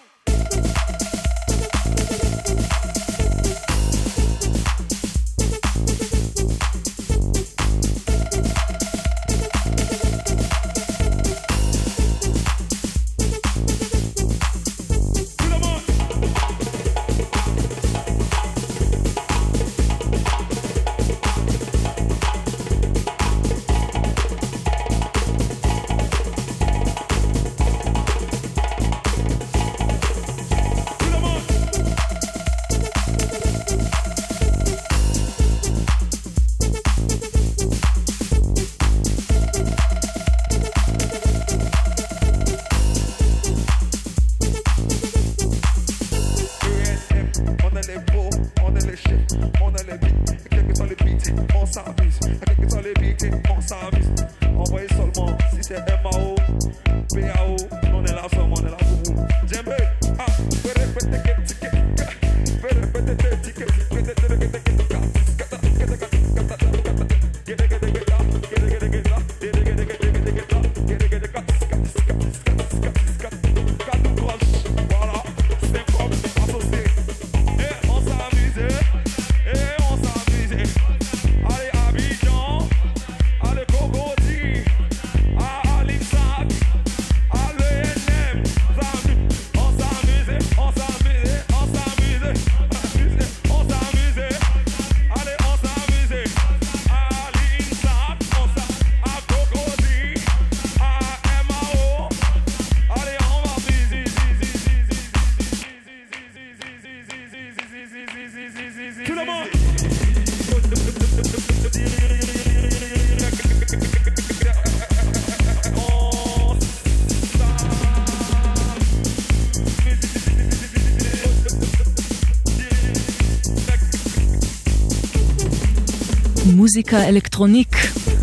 מוזיקה אלקטרוניק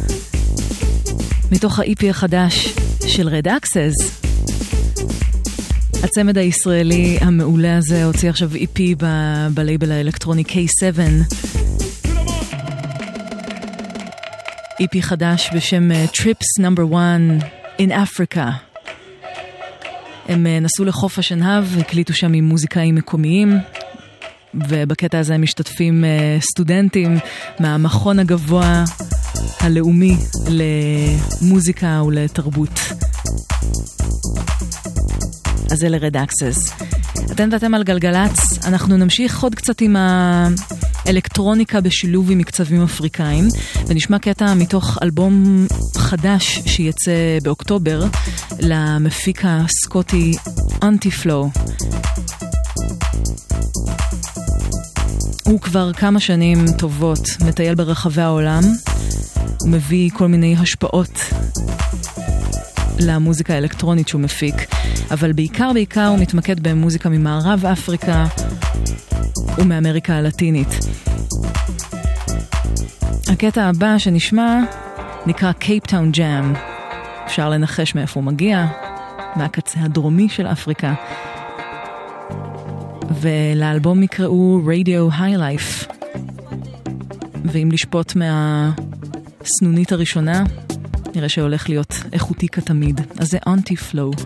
מתוך ה-אי פי החדש של Red Access. הצמד הישראלי המעולה הזה הוציא עכשיו אי פי ב- בלייבל האלקטרוני קיי סבע, אי פי חדש בשם Trips Number One in Africa. הם נסעו לחוף השנהב, הקליטו שם עם מוזיקאים מקומיים, ובקטע הזה הם משתתפים סטודנטים מהמכון הגבוה הלאומי למוזיקה ולתרבות. אז זה ל-Red Access. אתם ואתם על גלגלץ, אנחנו נמשיך עוד קצת עם האלקטרוניקה בשילוב עם מקצבים אפריקאים, ונשמע קטע מתוך אלבום חדש שיצא באוקטובר למפיק הסקוטי אנטי-פלו. הוא כבר כמה שנים טובות מטייל ברחבי העולם, הוא מביא כל מיני השפעות למוזיקה האלקטרונית שהוא מפיק, אבל בעיקר בעיקר הוא מתמקד במוזיקה ממערב אפריקה ומאמריקה הלטינית. הקטע הבא שנשמע נקרא Cape Town Jam. אפשר לנחש מאיפה הוא מגיע, מהקצה הדרומי של אפריקה. ולאלבום יקראו Radio High Life. ואם לשפוט מהסנונית הראשונה, נראה שהולך להיות איכותי כתמיד. אז זה Anti-Flow.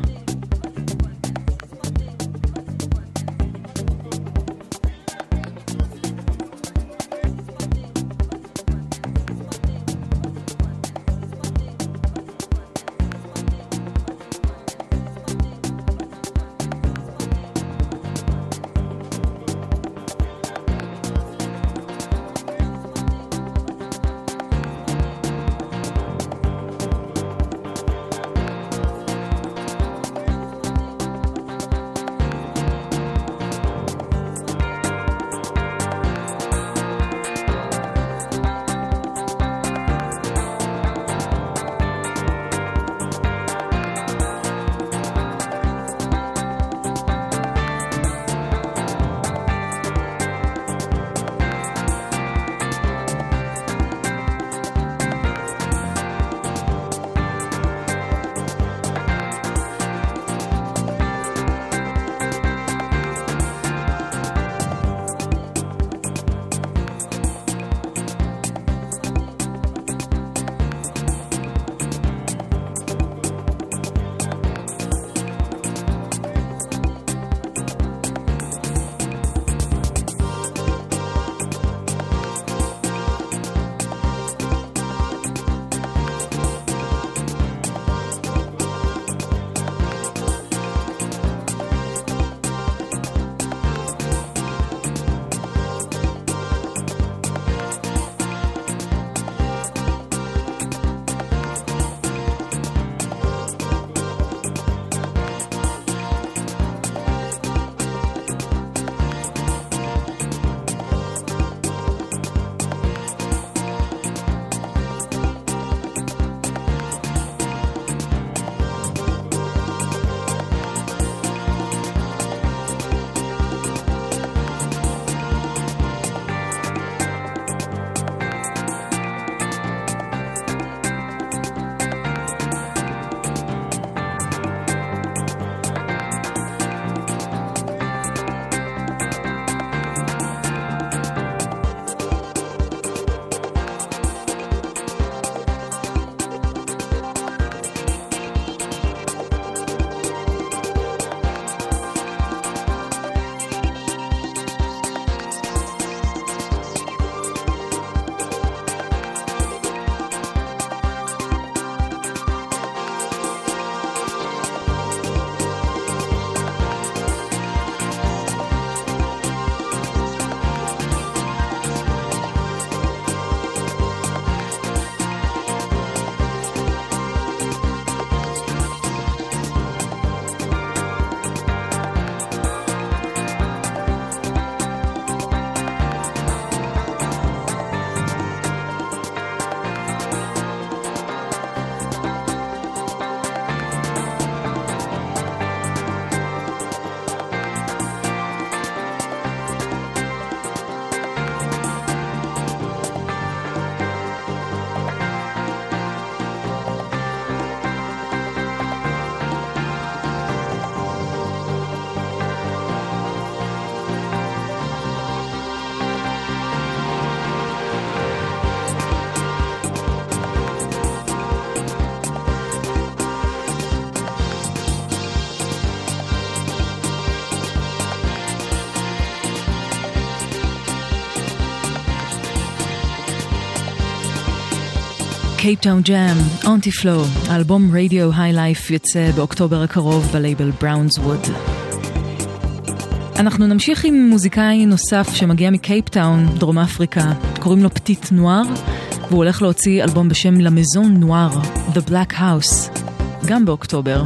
קייפטאון ג'אם, אונטי פלו, האלבום רדיו היי לייף יוצא באוקטובר הקרוב בלייבל בראונסווד. אנחנו נמשיך עם מוזיקאי נוסף שמגיע מקייפטאון, דרום אפריקה, קוראים לו פטיט נואר, והוא הולך להוציא אלבום בשם למזון נואר, The Black House, גם באוקטובר.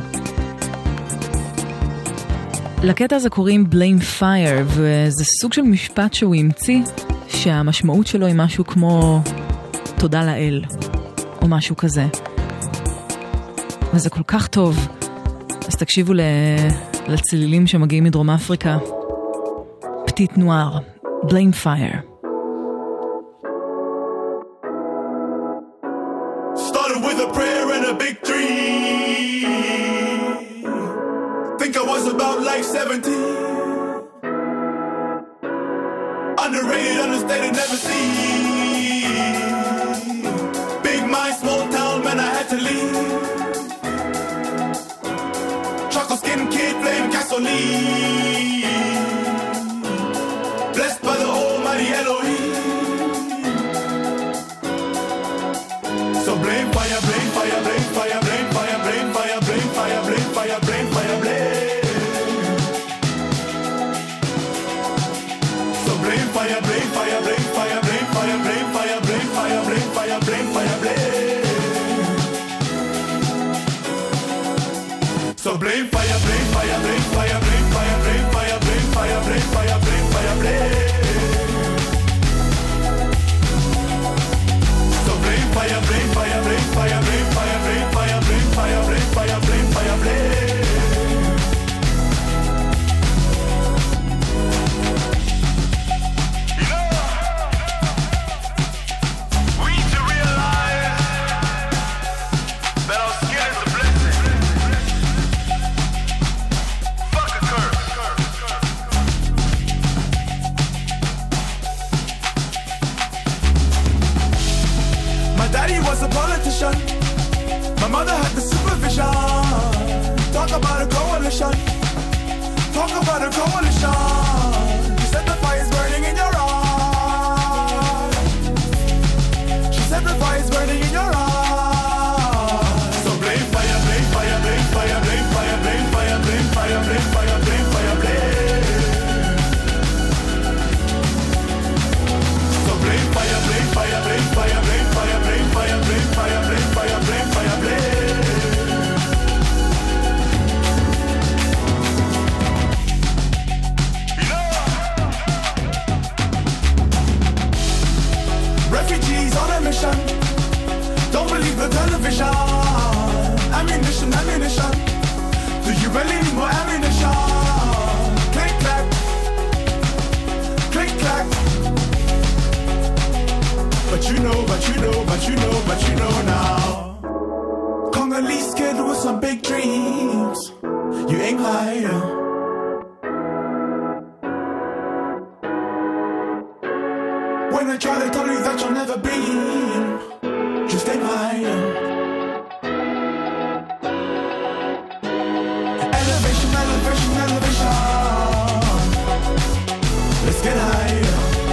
לקטע הזה קוראים Blame Fire, וזה סוג של משפט שהוא המציא, שהמשמעות שלו היא משהו כמו תודה לאל, או משהו כזה. וזה כל כך טוב. אז תקשיבו לצלילים שמגיעים מדרום אפריקה. פטיט נואר, Blame Fire. Started with a prayer and a big dream. Think I was about like seventeen. Underrated, understated, never seen. Big mind, small town, man, I had to leave. Chocolate skin kid, flame gasoline. Blessed by the almighty Elohim. So blame fire, blame fire, blame fire, blame fire, blame fire, blame fire, blame fire, blame fire, blame. So blame fire, blame fire, blame fire, blame fire, blame fire, blame fire, blame fire, blame fire, blame. So blame fire, blame fire, blame fire, blame fire, blame fire, blame fire, blame fire, blame fire, blame. So blame fire, blame fire, blame fire, blame fire, blame fire, blame fire, blame fire, blame fire, blame. My mother had the supervision. Talk about a coalition. Talk about a coalition. You said the fire is burning in your eyes. She said the fire is burning in your eyes. So blame fire, blame fire, blame fire, blame fire, blame fire, blame fire, blame fire, blame fire, blame. So blame fire, blame fire, blame fire, blame fire, blame fire, blame fire, blame fire, blame fire, blame. Refugees on a mission. Don't believe the television. Ammunition, ammunition. Do you really need more ammunition? Click clack, click clack. But you know, but you know, but you know, but you know now. Congolese kid with some big dreams. You ain't lying. When I try to tell you that you'll never be, just ain't lying. Elevation, elevation, elevation. Let's get higher.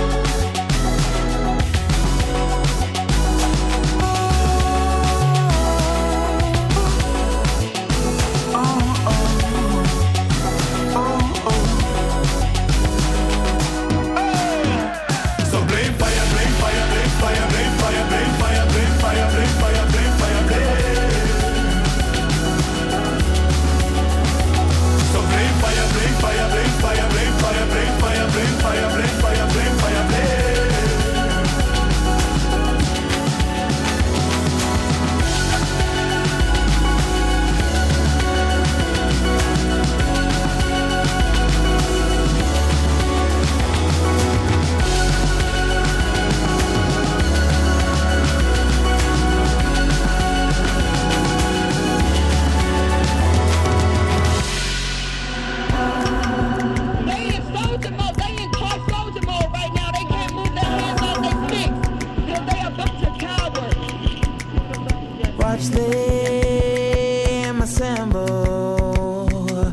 Watch them assemble,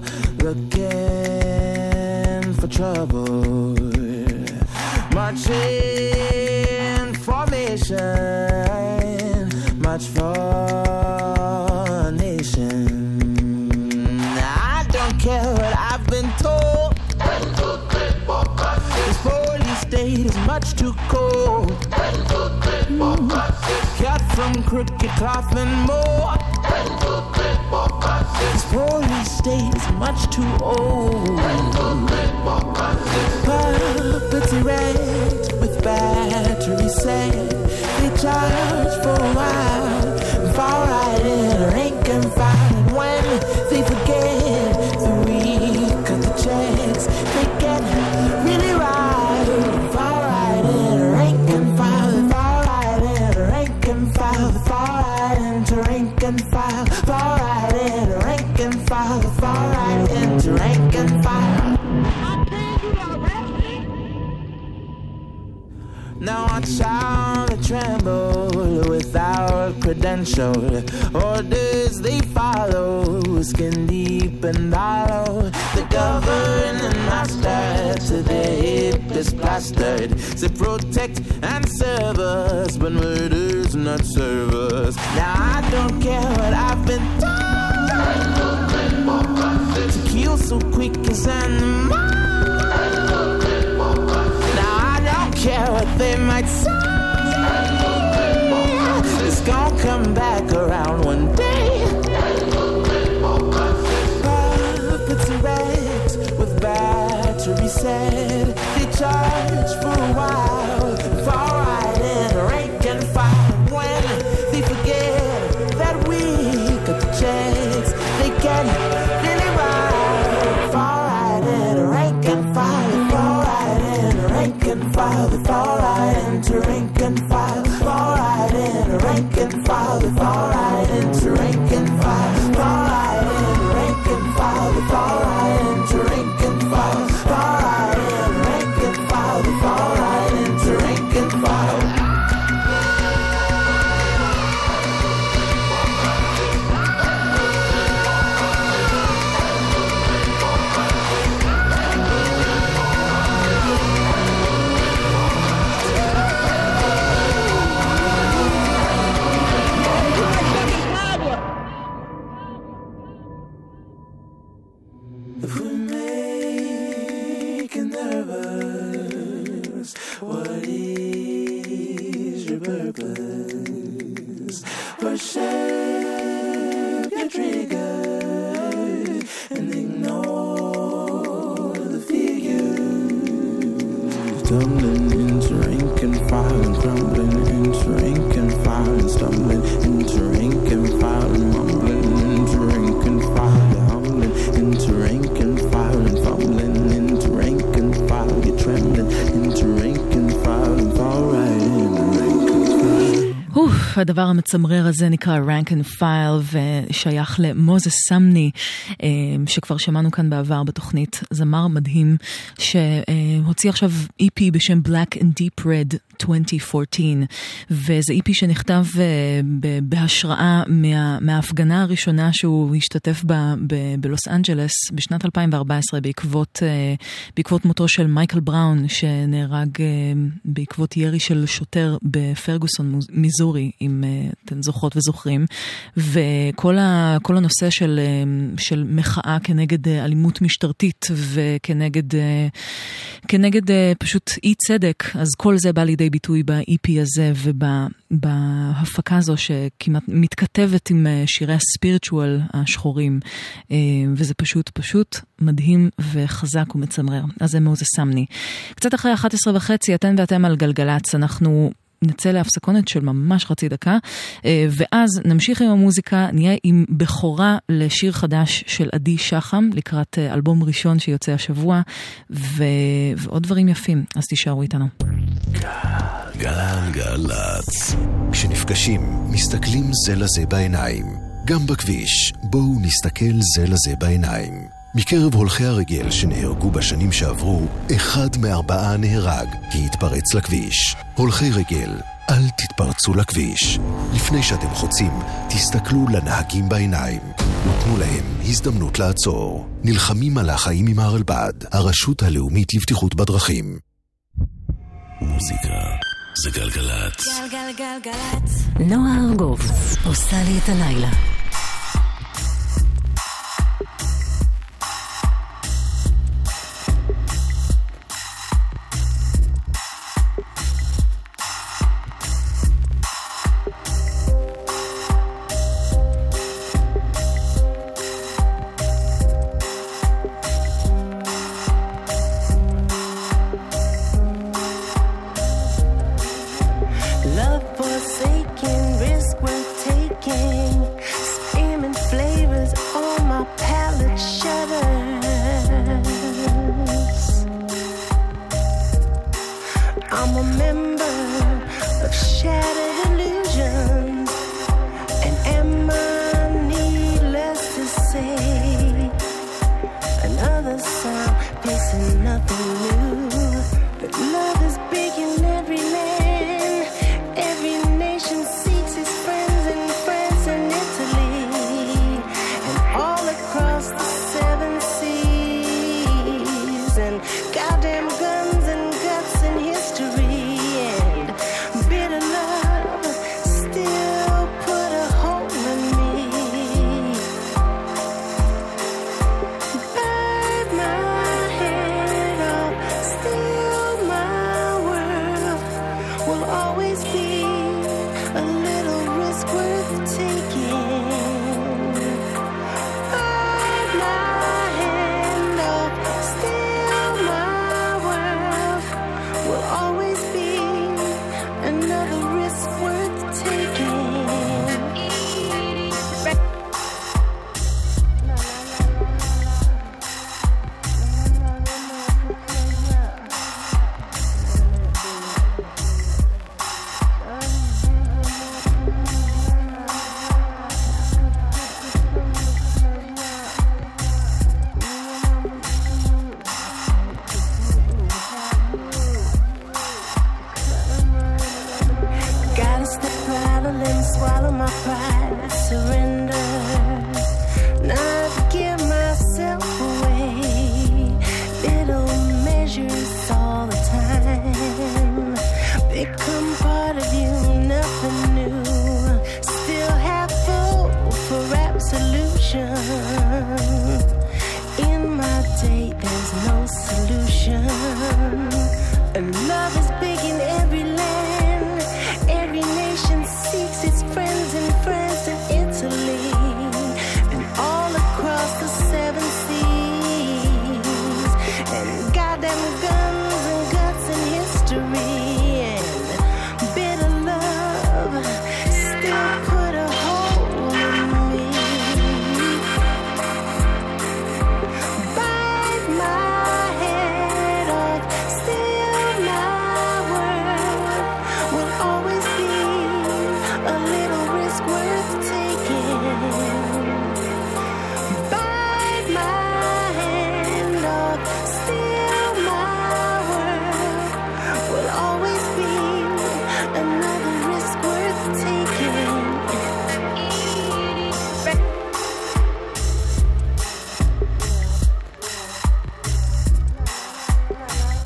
looking for trouble. March in formation, march much too cold. Mm. Cut from crooked cloth and more. This poorly state is much too old. Puppets erect with battery set. They charge for a while, far right in a rank and file. And when they forget the week of the checks, they get really right. Far right in a rank and file. Far right in a rank and file. Far right into rank and file. Far right in a rank and file. Far right into rank and file. Now watch how they tremble without credential. Orders they follow, skin deep and hollow. The governing master to their hip is plastered. They protect and serve us, but murder's not serve us. Now I don't care what I've been told. To kill so quick as animals. Care what they might say. It's gonna come back around one day. Puppets erect with battery set. They charge for a while, far right in a rank and file. When they forget that week of the checks, they get really right. Far right in a rank and file. Far right in a rank and file. The far right into rank and file. Far right in a rank and file. The far right into rank and file. Far right in a rank and file. The far right into rank and file. Far right in a rank and file. The far right into rank and file. Stumbling into rank and file and crumbling into rank and file and stumbling into rank and file and mumbling into rank and file. You're humbling into rank and file and fumbling into rank and file. You're trembling into rank and file and fall right in rank and file. אוף, הדבר המצמרר הזה נקרא rank and file ושייך למוזס סמני, שכבר שמענו כאן בעבר בתוכנית, זמר מדהים שהוציא עכשיו E P בשם Black and Deep Red עשרים ארבע עשרה, וזה E P שנכתב בהשראה מה, מההפגנה הראשונה שהוא השתתף בה בלוס אנג'לס בשנת אלפיים וארבע עשרה בעקבות, בעקבות מותו של מייקל בראון שנהרג בעקבות ירי של שוטר בפרגוסון מיזורי, אם אתם זוכרות וזוכרים, וכל ה, כל הנושא של, של מחאה כנגד אלימות משטרתית וכנגד כנגד פשוט אי צדק, אז כל זה בא לידי ביטוי ב-E P הזה ובהפקה הזו שכמעט מתכתבת עם שירי הספיריטואל השחורים, וזה פשוט פשוט מדהים וחזק ומצמרר. אז זה מוזס סמני. קצת אחרי אחת עשרה וחצי, אתן ואתם על גלגלץ, אנחנו נצא להפסקונת של ממש חצי דקה, ואז נמשיך עם המוזיקה, נהיה עם בכורה לשיר חדש של עדי שחם, לקראת אלבום ראשון שיוצא השבוע, ו... ועוד דברים יפים, אז תישארו איתנו. גלגלצ. כשנפגשים, מסתכלים זה לזה בעיניים. גם בכביש, בואו נסתכל זה לזה בעיניים. מקרב הולכי הרגל שנהרגו בשנים שעברו, אחד מארבעה נהרג כי התפרץ לכביש. הולכי רגל, אל תתפרצו לכביש. לפני שאתם חוצים, תסתכלו לנהגים בעיניים. ותנו להם הזדמנות לעצור. נלחמים על החיים עם הרלב"ד, הרשות הלאומית לבטיחות בדרכים. מוזיקה זה גלגלצ. גלגלגלגלצ. נועה ארגוב עושה לי את הלילה.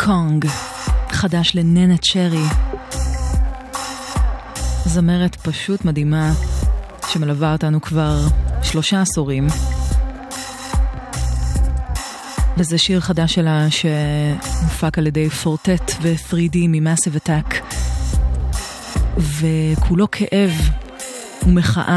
קונג, חדש לננה צ'רי, זמרת פשוט מדהימה שמלווה אותנו כבר שלושה עשורים. וזה שיר חדש שלה שמופק על ידי פורטט ו-תרי די מ-Massive Attack, וכולו כאב ומחאה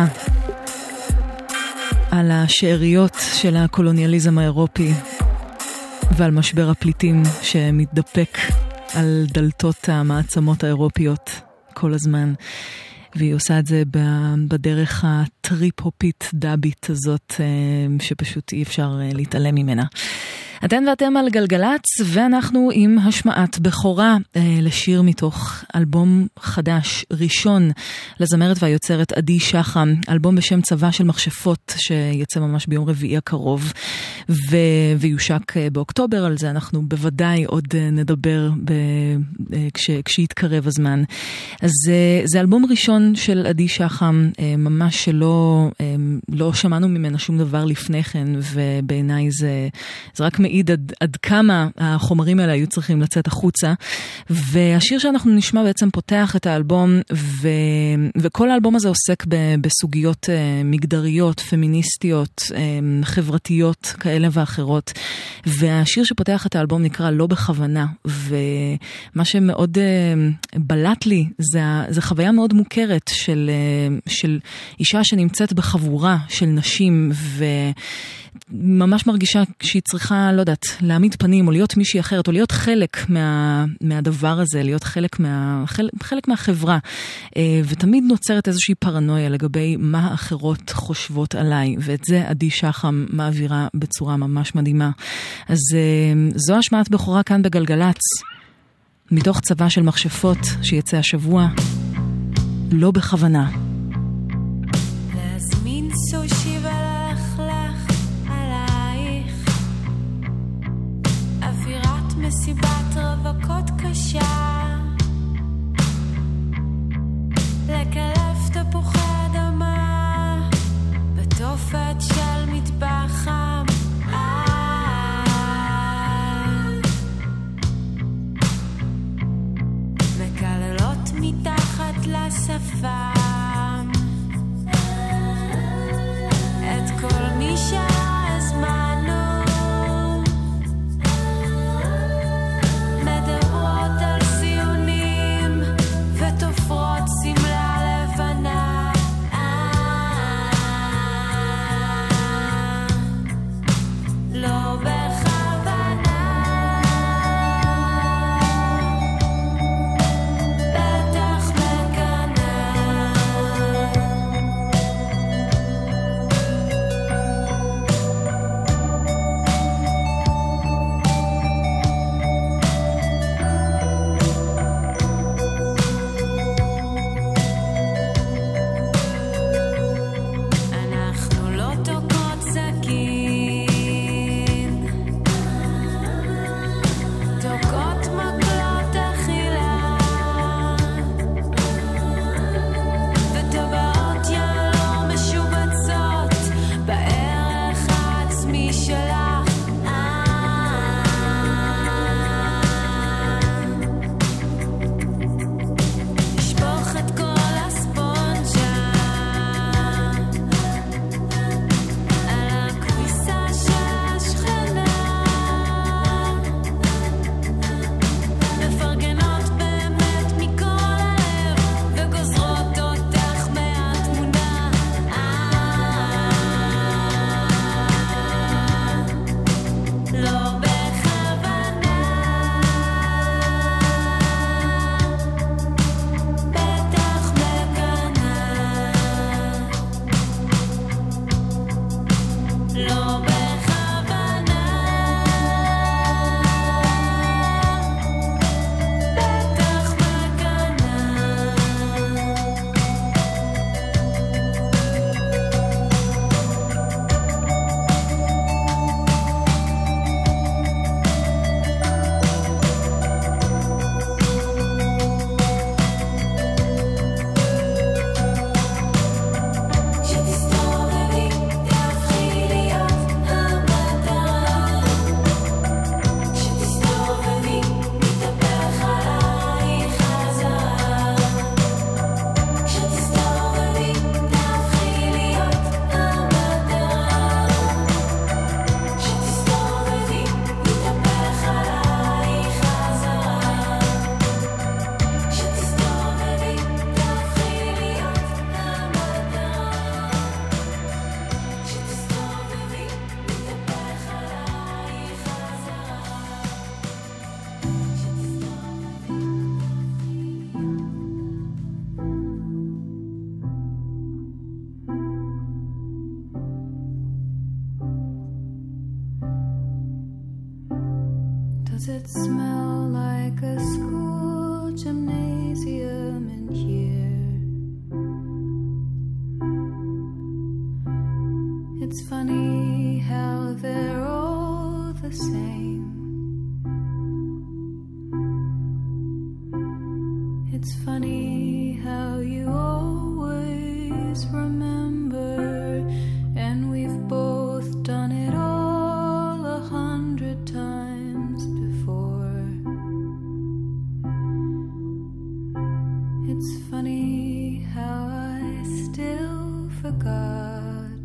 על השאריות של הקולוניאליזם האירופי ועל משבר הפליטים שמתדפק על דלתות המעצמות האירופיות כל הזמן. והיא עושה את זה בדרך הטריפ-הופית דאבית הזאת שפשוט אי אפשר להתעלם ממנה. אתן ואתם על גלגלץ, ואנחנו עם השמעת בכורה אה, לשיר מתוך אלבום חדש, ראשון, לזמרת והיוצרת עדי שחם, אלבום בשם צבא של מכשפות, שיצא ממש ביום רביעי הקרוב, ו... ויושק אה, באוקטובר. על זה אנחנו בוודאי עוד אה, נדבר ב... אה, כש... כשיתקרב הזמן. אז אה, זה אלבום ראשון של עדי שחם, אה, ממש שלא אה, לא שמענו ממנה שום דבר לפני כן, ובעיניי זה, זה רק מעיד עד, עד כמה החומרים האלה היו צריכים לצאת החוצה. והשיר שאנחנו נשמע בעצם פותח את האלבום, ו, וכל האלבום הזה עוסק ב, בסוגיות uh, מגדריות, פמיניסטיות, um, חברתיות כאלה ואחרות. והשיר שפותח את האלבום נקרא לא בכוונה, ומה שמאוד uh, בלט לי זה, זה חוויה מאוד מוכרת של, uh, של אישה שנמצאת בחבורה של נשים, ו... ממש מרגישה שהיא צריכה, לא יודעת, להעמיד פנים או להיות מישהי אחרת, או להיות חלק מה, מהדבר הזה, להיות חלק, מה, חלק, חלק מהחברה. ותמיד נוצרת איזושהי פרנויה לגבי מה האחרות חושבות עליי, ואת זה עדי שחם מעבירה בצורה ממש מדהימה. אז זו השמעת בכורה כאן בגלגלץ, מתוך צבא של מכשפות שיצא השבוע, לא בכוונה. להזמין סושי מסיבת רווקות קשה, לקלף תפוחי אדמה בתופת של מטבח חם, מקללות מתחת לשפם, Does it smell like a school gymnasium in here? It's funny how they're all the same. It's funny how you always remember, and we've both done it all a hundred times before. It's funny how I still forgot.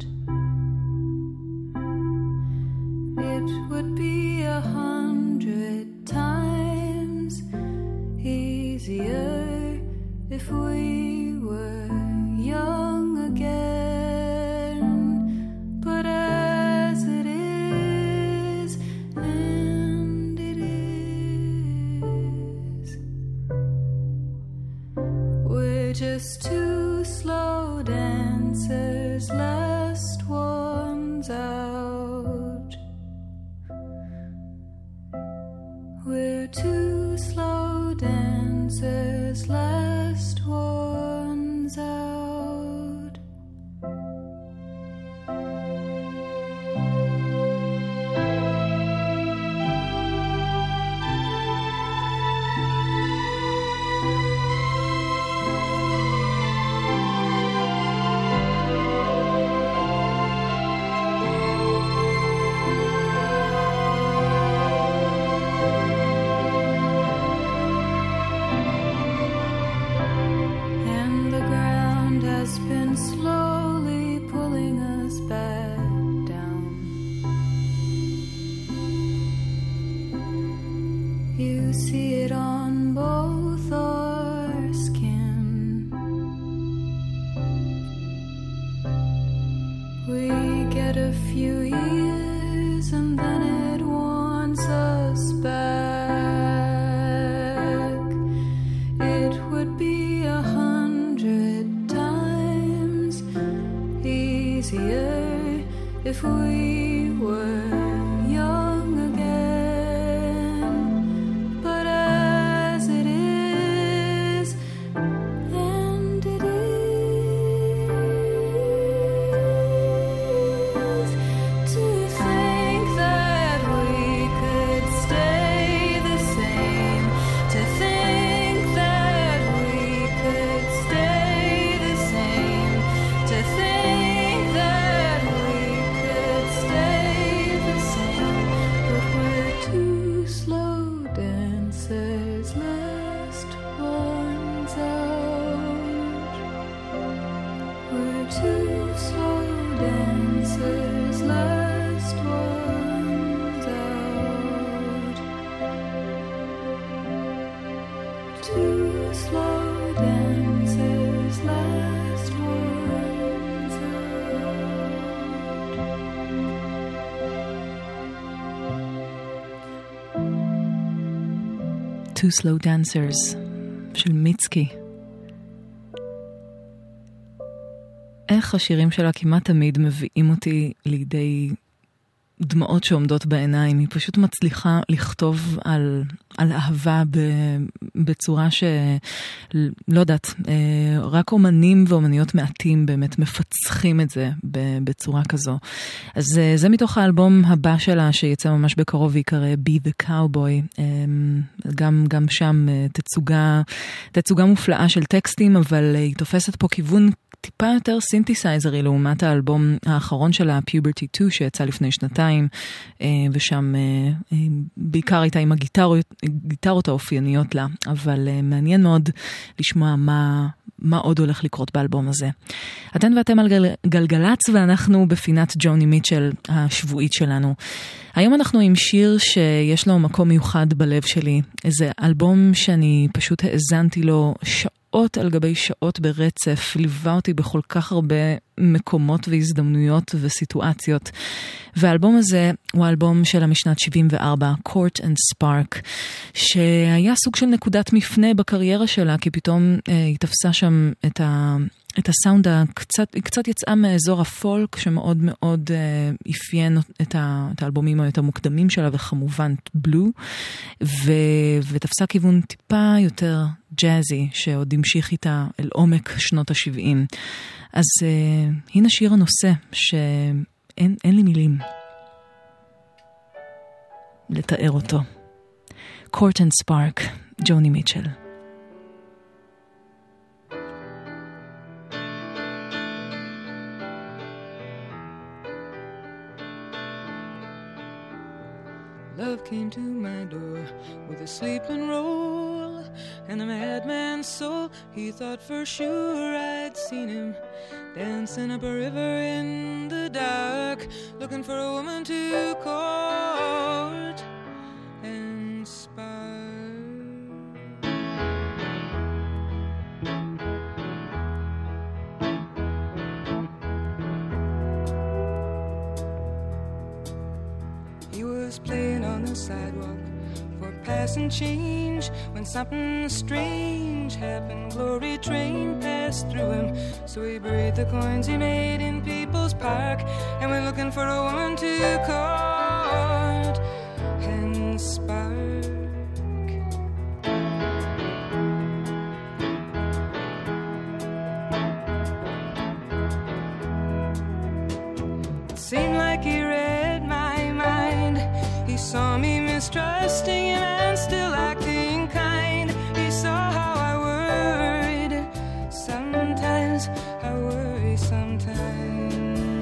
It would be a hundred times easier if we were young again, but as it is, and it is, we're just two slow dancers, last ones out. We're two slow dancers, last ones out. Slowly pulling us back down. You see it on both our skin. We get a few years and then it wants us back. It would be a hundred easier if we were young again, but as it is, and it is, to think that we could stay the same, to think that we could stay the same, to think that we could stay the same, but we're two slow dancers, last ones out. We're two slow dancers, last ones out. Two slow dancers, last ones Two Slow Dancers של מיצקי. איך השירים שלה כמעט תמיד מביאים אותי לידי דמעות שעומדות בעיניים. היא פשוט מצליחה לכתוב על, על אהבה בצורה שלא יודעת, רק אומנים ואומניות מעטים באמת מפצחים את זה בצורה כזו. אז זה מתוך האלבום הבא שלה שיצא ממש בקרוב ויקרא Be the Cowboy. גם, גם שם תצוגה, תצוגה מופלאה של טקסטים, אבל היא תופסת פה כיוון טיפה יותר סינתסייזרי לעומת האלבום האחרון שלה, Puberty two, שיצא לפני שנתיים, ושם בעיקר הייתה עם הגיטרות, הגיטרות האופייניות לה, אבל מעניין מאוד לשמוע מה, מה עוד הולך לקרות באלבום הזה. אתן ואתם על גל, גלגלץ, ואנחנו בפינת ג'וני מיטשל השבועית שלנו. היום אנחנו עם שיר שיש לו מקום מיוחד בלב שלי, איזה אלבום שאני פשוט האזנתי לו שעות, שעות על גבי שעות ברצף, ליווה אותי בכל כך הרבה מקומות והזדמנויות וסיטואציות. והאלבום הזה הוא האלבום שלה משנת שבעים וארבע, Court and Spark, שהיה סוג של נקודת מפנה בקריירה שלה, כי פתאום אה, היא תפסה שם את, ה, את הסאונד הקצת, היא קצת יצאה מאזור הפולק שמאוד מאוד uh, אפיין את, ה, את האלבומים או את המוקדמים שלה, וכמובן בלו, ו, ותפסה כיוון טיפה יותר ג'אזי, שעוד המשיך איתה אל עומק שנות ה-שבעים. אז uh, הנה שיר הנושא שאין אין לי מילים לתאר אותו. Court and Spark, ג'וני מיטשל. Love came to my door with a sleeping roll and a madman's soul. He thought for sure I'd seen him dancing up a river in the dark, looking for a woman to court and spark. He was playing on the sidewalk for passing change when something strange happened. Glory train passed through him, so he buried the coins he made in People's Park and went looking for a woman to court and spark. It seemed like he read my mind. He saw me mistrusting him and still acting kind. He saw how I worried sometimes, I worry sometimes.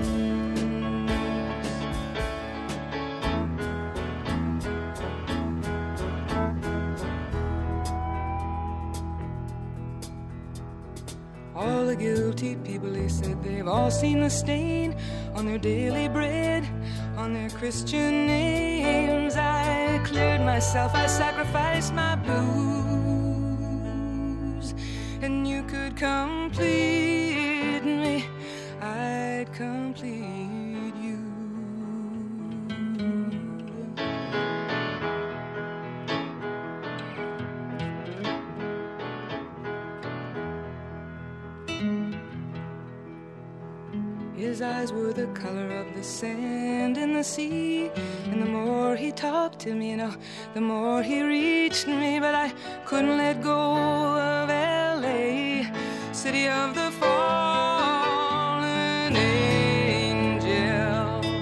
All the guilty people, he said, they've all seen the stain on their daily bread, on their Christian names. I cleared myself, I sacrificed my blues, and you could complete me, I'd complete you. His eyes were the color of the sand in the sea, and the more he talked to me, you know, the more he reached me. But I couldn't let go of L A, city of the fallen angels.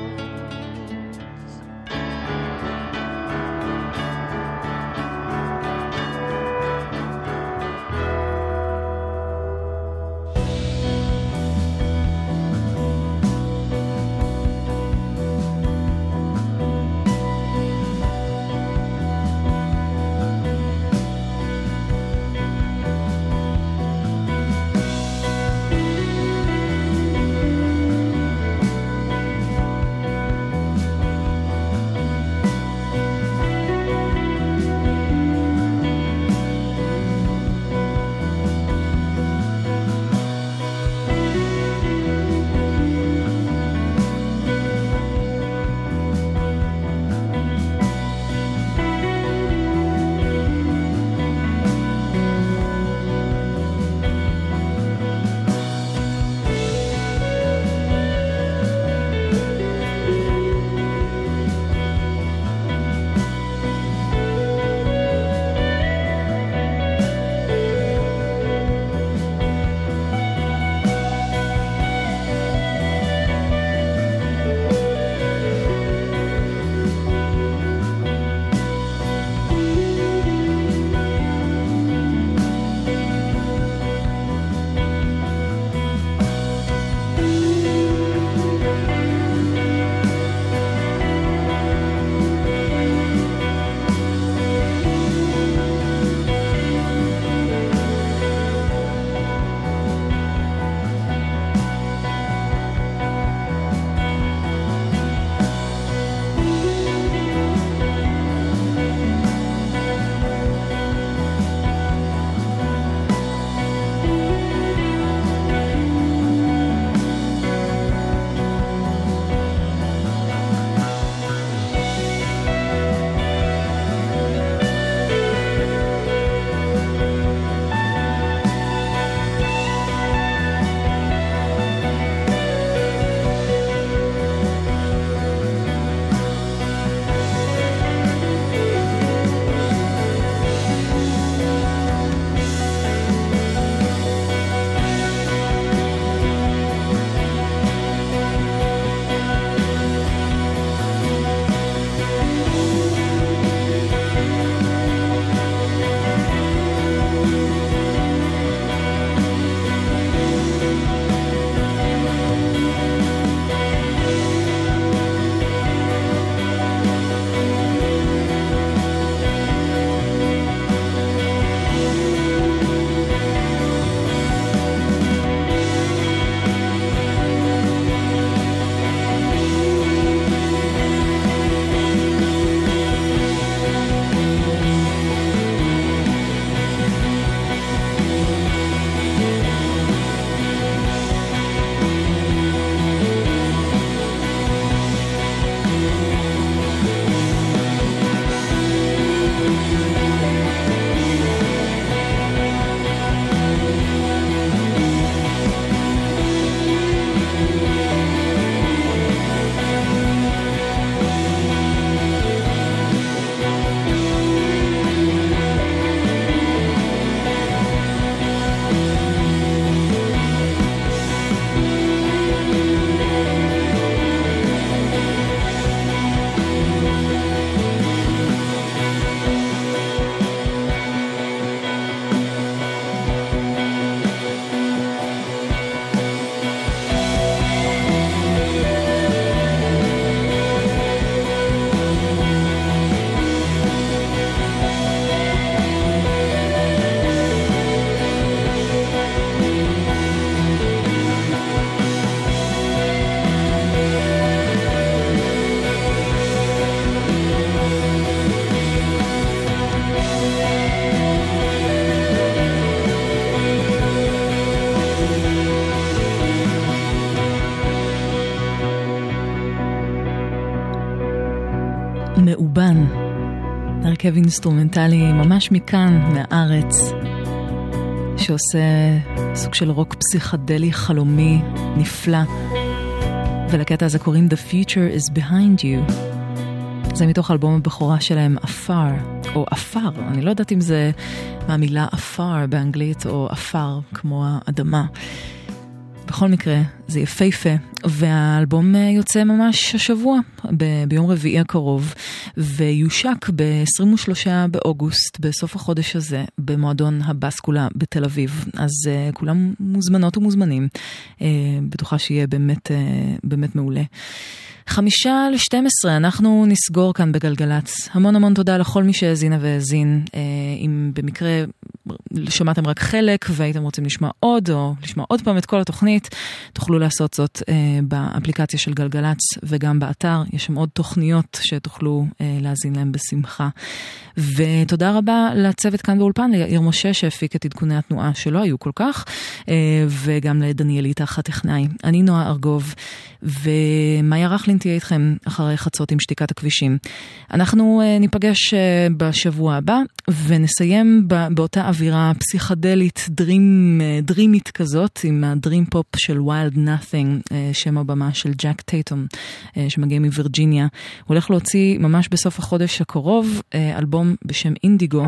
מאובן, הרכב אינסטרומנטלי ממש מכאן, מהארץ, שעושה סוג של רוק פסיכדלי חלומי נפלא, ולקטע הזה קוראים The Future is Behind You. זה מתוך אלבום הבכורה שלהם, אפר, או אפר, אני לא יודעת אם זה מהמילה אפר באנגלית, או אפר כמו האדמה. בכל מקרה, זה יפהפה, והאלבום יוצא ממש השבוע, ב- ביום רביעי הקרוב, ויושק ב-עשרים ושלושה באוגוסט, בסוף החודש הזה, במועדון הבסקולה בתל אביב. אז uh, כולם מוזמנות ומוזמנים. Uh, בטוחה שיהיה באמת, uh, באמת מעולה. חמישה לשתים עשרה, אנחנו נסגור כאן בגלגלץ. המון המון תודה לכל מי שהזינה והזין. אם במקרה שמעתם רק חלק והייתם רוצים לשמוע עוד, או לשמוע עוד פעם את כל התוכנית, תוכלו לעשות זאת באפליקציה של גלגלץ וגם באתר. יש שם עוד תוכניות שתוכלו להזין להם בשמחה. ותודה רבה לצוות כאן באולפן, ליאיר משה שהפיק את עדכוני התנועה שלא היו כל כך, וגם לדניאלית הטכנאי. אני נועה ארגוב, ומאיה רכלין תהיה איתכם אחרי חצות עם שתיקת הכבישים. אנחנו ניפגש בשבוע הבא, ונסיים באותה אווירה פסיכדלית, דרים, דרימית כזאת, עם הדרים פופ של Wild Nothing, שם הבמה של ג'ק טייטום, שמגיע מווירג'יניה. הוא הולך להוציא ממש בסוף החודש הקרוב, אלבום בשם אינדיגו.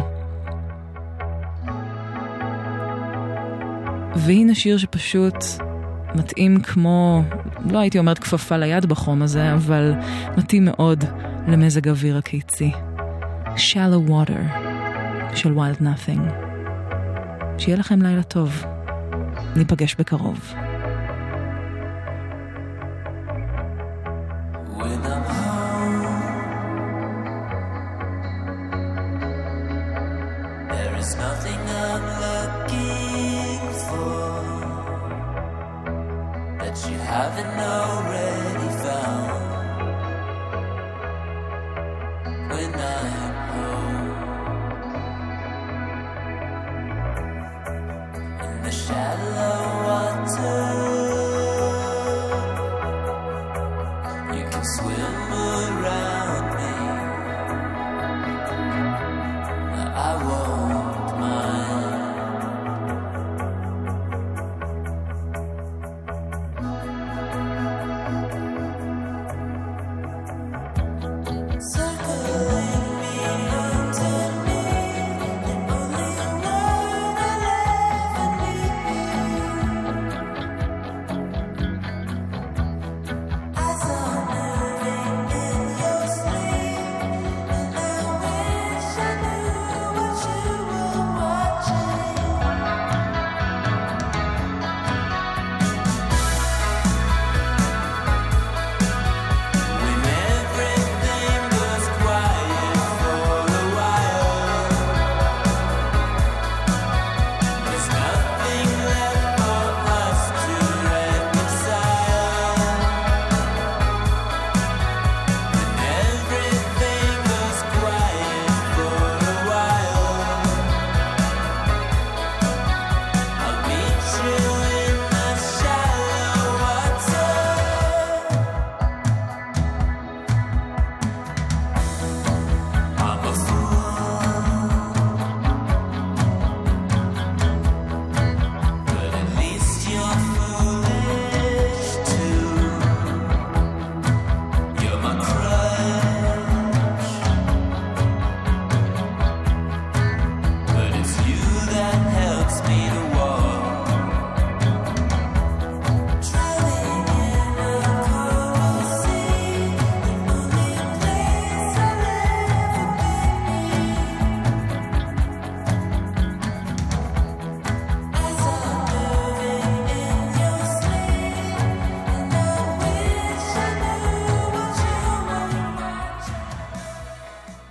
והנה שיר שפשוט מתאים כמו, לא הייתי אומרת כפפה ליד בחום הזה, אבל מתאים מאוד למזג אוויר הקיצי. Shallow Water של Wild Nothing. שיהיה לכם לילה טוב. ניפגש בקרוב. When I'm home, there is nothing I'm looking for that you haven't already found. When I'm home, in the shallow water, you can swim around.